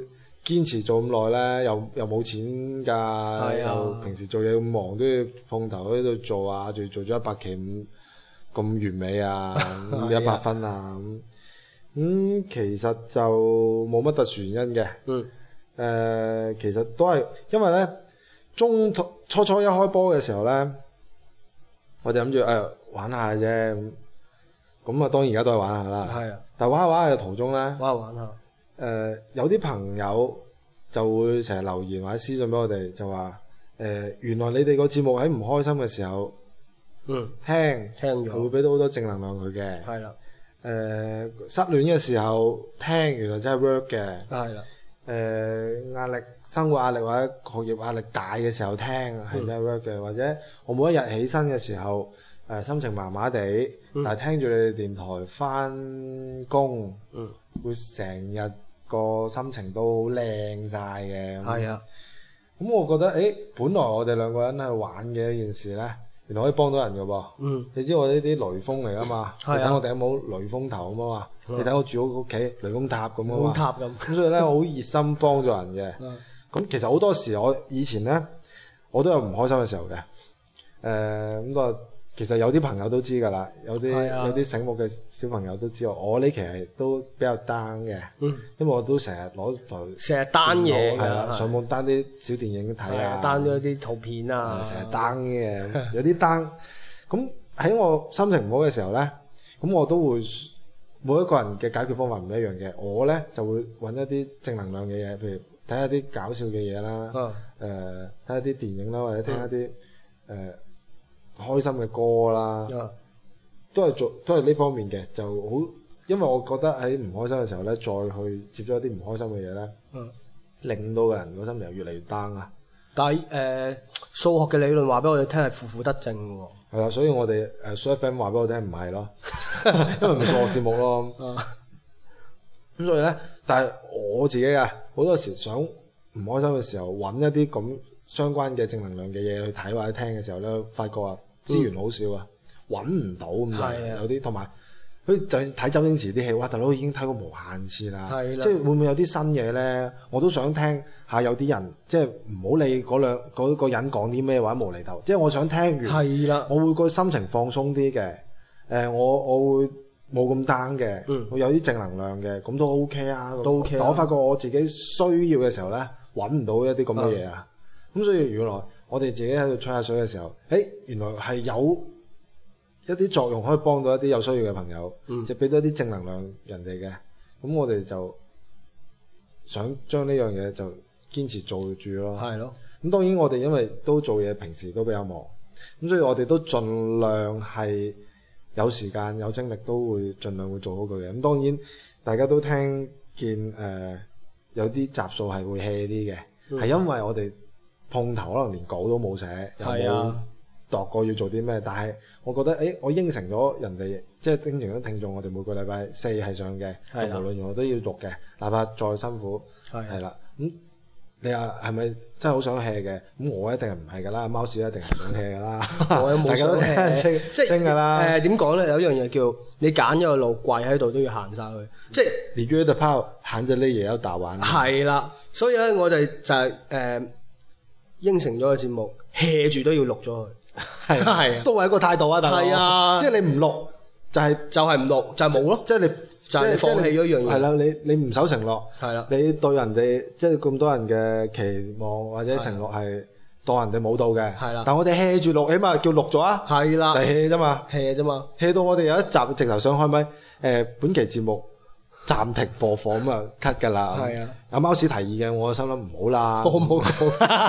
堅持做咁耐咧，又冇錢㗎，又平時做嘢咁忙，都要碰頭喺度做啊，仲要做咗100期咁完美啊，100分啊咁，其實就冇乜特殊原因嘅。其實都係因為咧，初一開波嘅時候咧，我哋諗住玩下啫，咁啊當然而家都係玩下啦。係啊，但係玩下玩下嘅途中咧， 玩下。 有啲朋友就會成日留言或者私信俾我哋，就話原來你哋個節目喺唔開心嘅時候，聽咗會俾到好多正能量佢嘅。係啦。失戀嘅時候聽，原來真係 work 嘅。係啦。生活壓力或者學業壓力大嘅時候聽係真係 work 嘅，或者我每一日起身嘅時候心情麻麻地，但係聽住你哋電台翻工，會成日個心情都好靚晒嘅。係啊，咁我覺得本來我哋兩個人喺度玩嘅一件事咧，原來可以幫到人嘅噃。你知我呢啲雷鋒嚟噶嘛？你睇我頂帽雷鋒頭咁啊嘛，你睇我住屋企雷公塔咁啊嘛。塔咁所以咧，我好熱心幫助人嘅。咁其實好多時我以前咧，我都有唔開心嘅時候嘅。咁個其實有啲朋友都知㗎啦，有啲醒目嘅小朋友都知道，我呢期係都比較 down 嘅。因為我都成日攞台成日 down 嘢， 係啦，上網 down 啲小電影睇啊 ，down咗啲圖片啊， 成日 down 嘅，有啲 down。咁喺我心情唔好嘅時候咧，咁我都會每一個人嘅解決方法唔一樣嘅。我咧就會揾一啲正能量嘅嘢，譬如睇下啲搞笑嘅嘢啦，睇下啲電影啦，或者聽一啲開心嘅歌啦，都係呢方面嘅，就好。因為我覺得喺唔開心嘅時候咧，再去接觸一啲唔開心嘅嘢咧，令到個人個心情越嚟越 down 啊。 但係數學嘅理論話俾我哋聽係負負得正嘅喎。 係啦，所以我哋SooFM 話俾我聽唔係咯，因為唔係數學節目咯。咁所以咧，但係我自己啊，好多時想唔開心嘅時候，揾一啲咁相關嘅正能量嘅嘢去睇或者聽嘅時候咧，發覺啊資源好少啊，揾唔到咁樣，有啲同埋佢就睇周星馳啲戲，哇大佬已經睇過無限次啦，即係會唔會有啲新嘢咧？我都想聽下有啲人即係唔好理嗰個人講啲咩或者無厘頭，即係我想聽完，我會個心情放鬆啲嘅，我會冇咁 down 嘅，會有啲正能量嘅，咁都 OK 啊，都 OK。但我發覺我自己需要嘅時候咧，揾唔到一啲咁嘅嘢啊，咁所以原來我哋自己喺度吹下水嘅時候，原來係有一啲作用可以幫到一啲有需要嘅朋友，即係俾多啲正能量人哋嘅。咁我哋就想將呢樣嘢就堅持做住咯。係咯。咁當然我哋因為都做嘢，平時都比較忙，咁所以我哋都盡量係有時間有精力都會盡量會做好佢嘅。咁當然大家都聽見有啲集數係會 hea 啲嘅，係因為我哋碰頭可能連稿都冇寫，又冇度過要做啲咩，但係我覺得我應承咗人哋，即係應承咗聽眾，我哋每個禮拜4係上嘅，就無論如何都要錄嘅，哪怕再辛苦係啦。咁你話係咪真係好想 hea 嘅？咁我一定係唔係㗎啦，貓屎一定係想 hea 㗎啦。我有冇想 hea？即係㗎啦。點講咧？有一樣嘢叫你揀咗個路，跪喺度都要行晒佢。即係你約得拋，行咗呢嘢有大玩。 係啦，所以咧我哋就係應承咗個節目 hea 住都要錄咗佢。係都係一個態度啊，大佬。係啊，即係你唔錄就係唔錄就冇咯。即係你就係放棄咗一樣嘢。係啦，你唔守承諾。係啦，你對人哋即係咁多人嘅期望或者承諾係當人哋冇到嘅。係啦，但我哋 hea 住錄，起碼叫錄咗啊。係啦，係 hea 啫嘛 ，hea 啫嘛，hea 到我哋有一集直頭想開咪本期節目暫停播放咁啊 cut 㗎啦。係啊，有貓屎提議嘅，我心諗唔好啦。我冇講，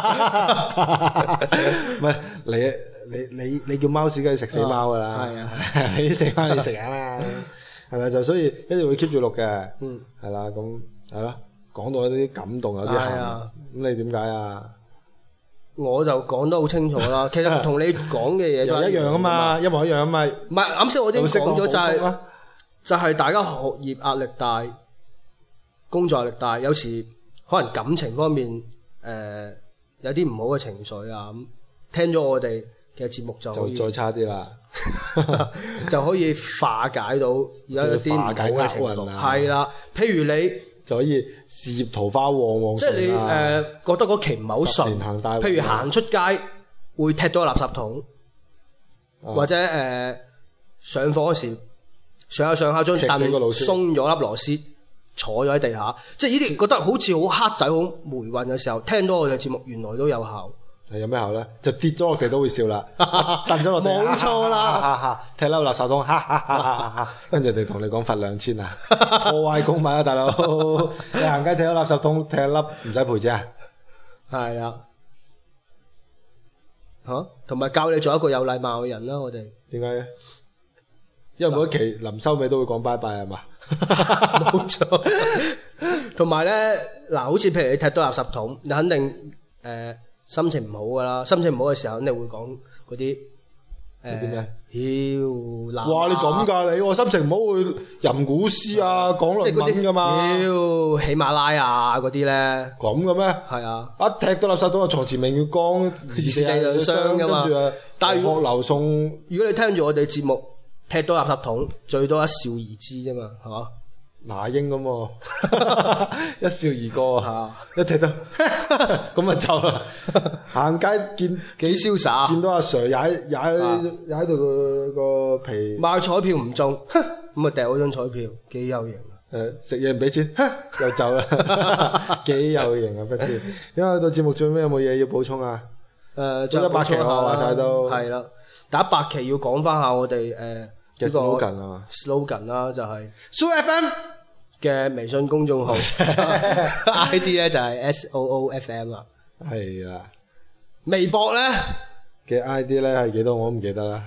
唔係你叫貓屎梗係食死貓㗎啦。係啊，你食翻你食下啦，係咪就所以一定會 keep 住錄嘅。係啦，咁係咯，講到有啲感動，有啲喊。咁你點解啊？我就講得好清楚啦。其實同你講嘅嘢都一樣啊嘛，一模一樣啊嘛。唔係啱先我已經講咗就係大家學業壓力大，工作壓力大，有時可能感情方面有啲唔好嘅情緒啊，咁聽咗我哋嘅節目就可以再差啲啦，就可以化解到有一啲唔好嘅情緒。係啦，譬如你就可以事業桃花旺旺即係你順啊覺得嗰期唔係好 10年行大運順，譬如行出街會踢到個垃圾桶，或者上課嗰時上下張踢死個老凳師鬆咗粒螺絲，坐咗喺地下，即係呢啲覺得好似好黑仔好霉運嘅時候，聽到我哋節目原來都有效。 係有咩效咧？就跌咗落地都會笑啦，蹬咗落地， 冇錯啦， 踢甩垃圾桶，跟住哋同你講罰2000啊，破壞公物啊，大佬！你行街踢咗垃圾桶，踢一粒唔使賠錢啊？ 係啊，同埋教你做一個有禮貌嘅人啦，我哋。 點解嘅？因為每一期臨收尾都會講拜拜係嘛？ 冇錯。同埋咧，嗱，好似譬如你踢到垃圾桶，你肯定心情唔好噶啦，心情唔好嘅時候肯定會講嗰啲啲咩？ 哇！ 你咁㗎你，我心情唔好會吟古詩啊，講論文㗎嘛？ 喜馬拉雅嗰啲咧， 咁嘅咩？ 係啊！ 一踢到垃圾桶啊，床前明月光， 時地兩相㗎嘛。 跟住啊， 但係學流送。 如果你聽住我哋節目，踢到垃圾桶，最多一笑而之啫嘛，係嘛？ 那英咁喎，一笑而過啊！ 一踢到咁咪走啦！行街見幾瀟灑， 見到阿 Sir 踩到個皮， 買彩票唔中，咁啊掉嗰張彩票，幾有型啊！ 食嘢唔俾錢，又走啦，幾有型啊！不知，因為到節目最尾有冇嘢要補充啊？ 仲有 100期我話晒都係啦，第100期要講翻下我哋嘅 slogan 啊 slogan 啦，就係 SooFM 嘅微信公眾號，ID 咧就係 SOOFM 啦。 係啊， 微博咧嘅 ID 咧係幾多我都唔記得啦。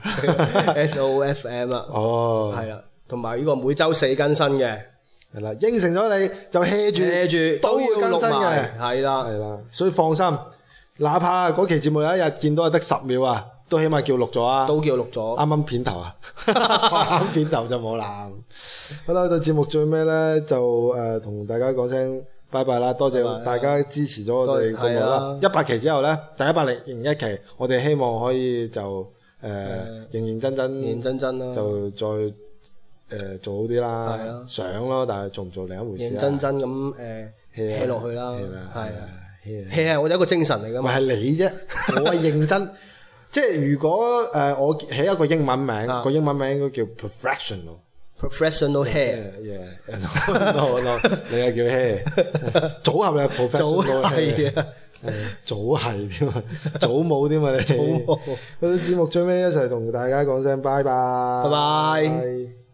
SOFM 啦。 哦， 係啦，同埋呢個每週4更新嘅。 係啦，應承咗你就 hea 住都要更新嘅， 係啦， 係啦，所以放心，哪怕嗰期節目有一日見到係得10秒啊，都起碼叫錄咗啊， 都叫錄咗， 啱啱片頭啊，啱片頭就冇啦。好啦，到節目最尾咧就同大家講聲拜拜啦，多謝大家支持咗我哋節目啦。100期之後咧，第101期，我哋希望可以就認真啦，就再。做好啲啦，想咯，但係做唔做另一回事。 認真咁hea 落去啦，係啊，hea 係我哋一個精神嚟噶嘛。 唔係你啫，我係認真。即係如果我起一個英文名，個英文名應該叫 professional hair。 no，你係叫 hair 組合你係 professional hair。組係添啊，組舞添啊，你。組舞。嗰啲節目最尾一齊同大家講聲拜拜。 拜拜。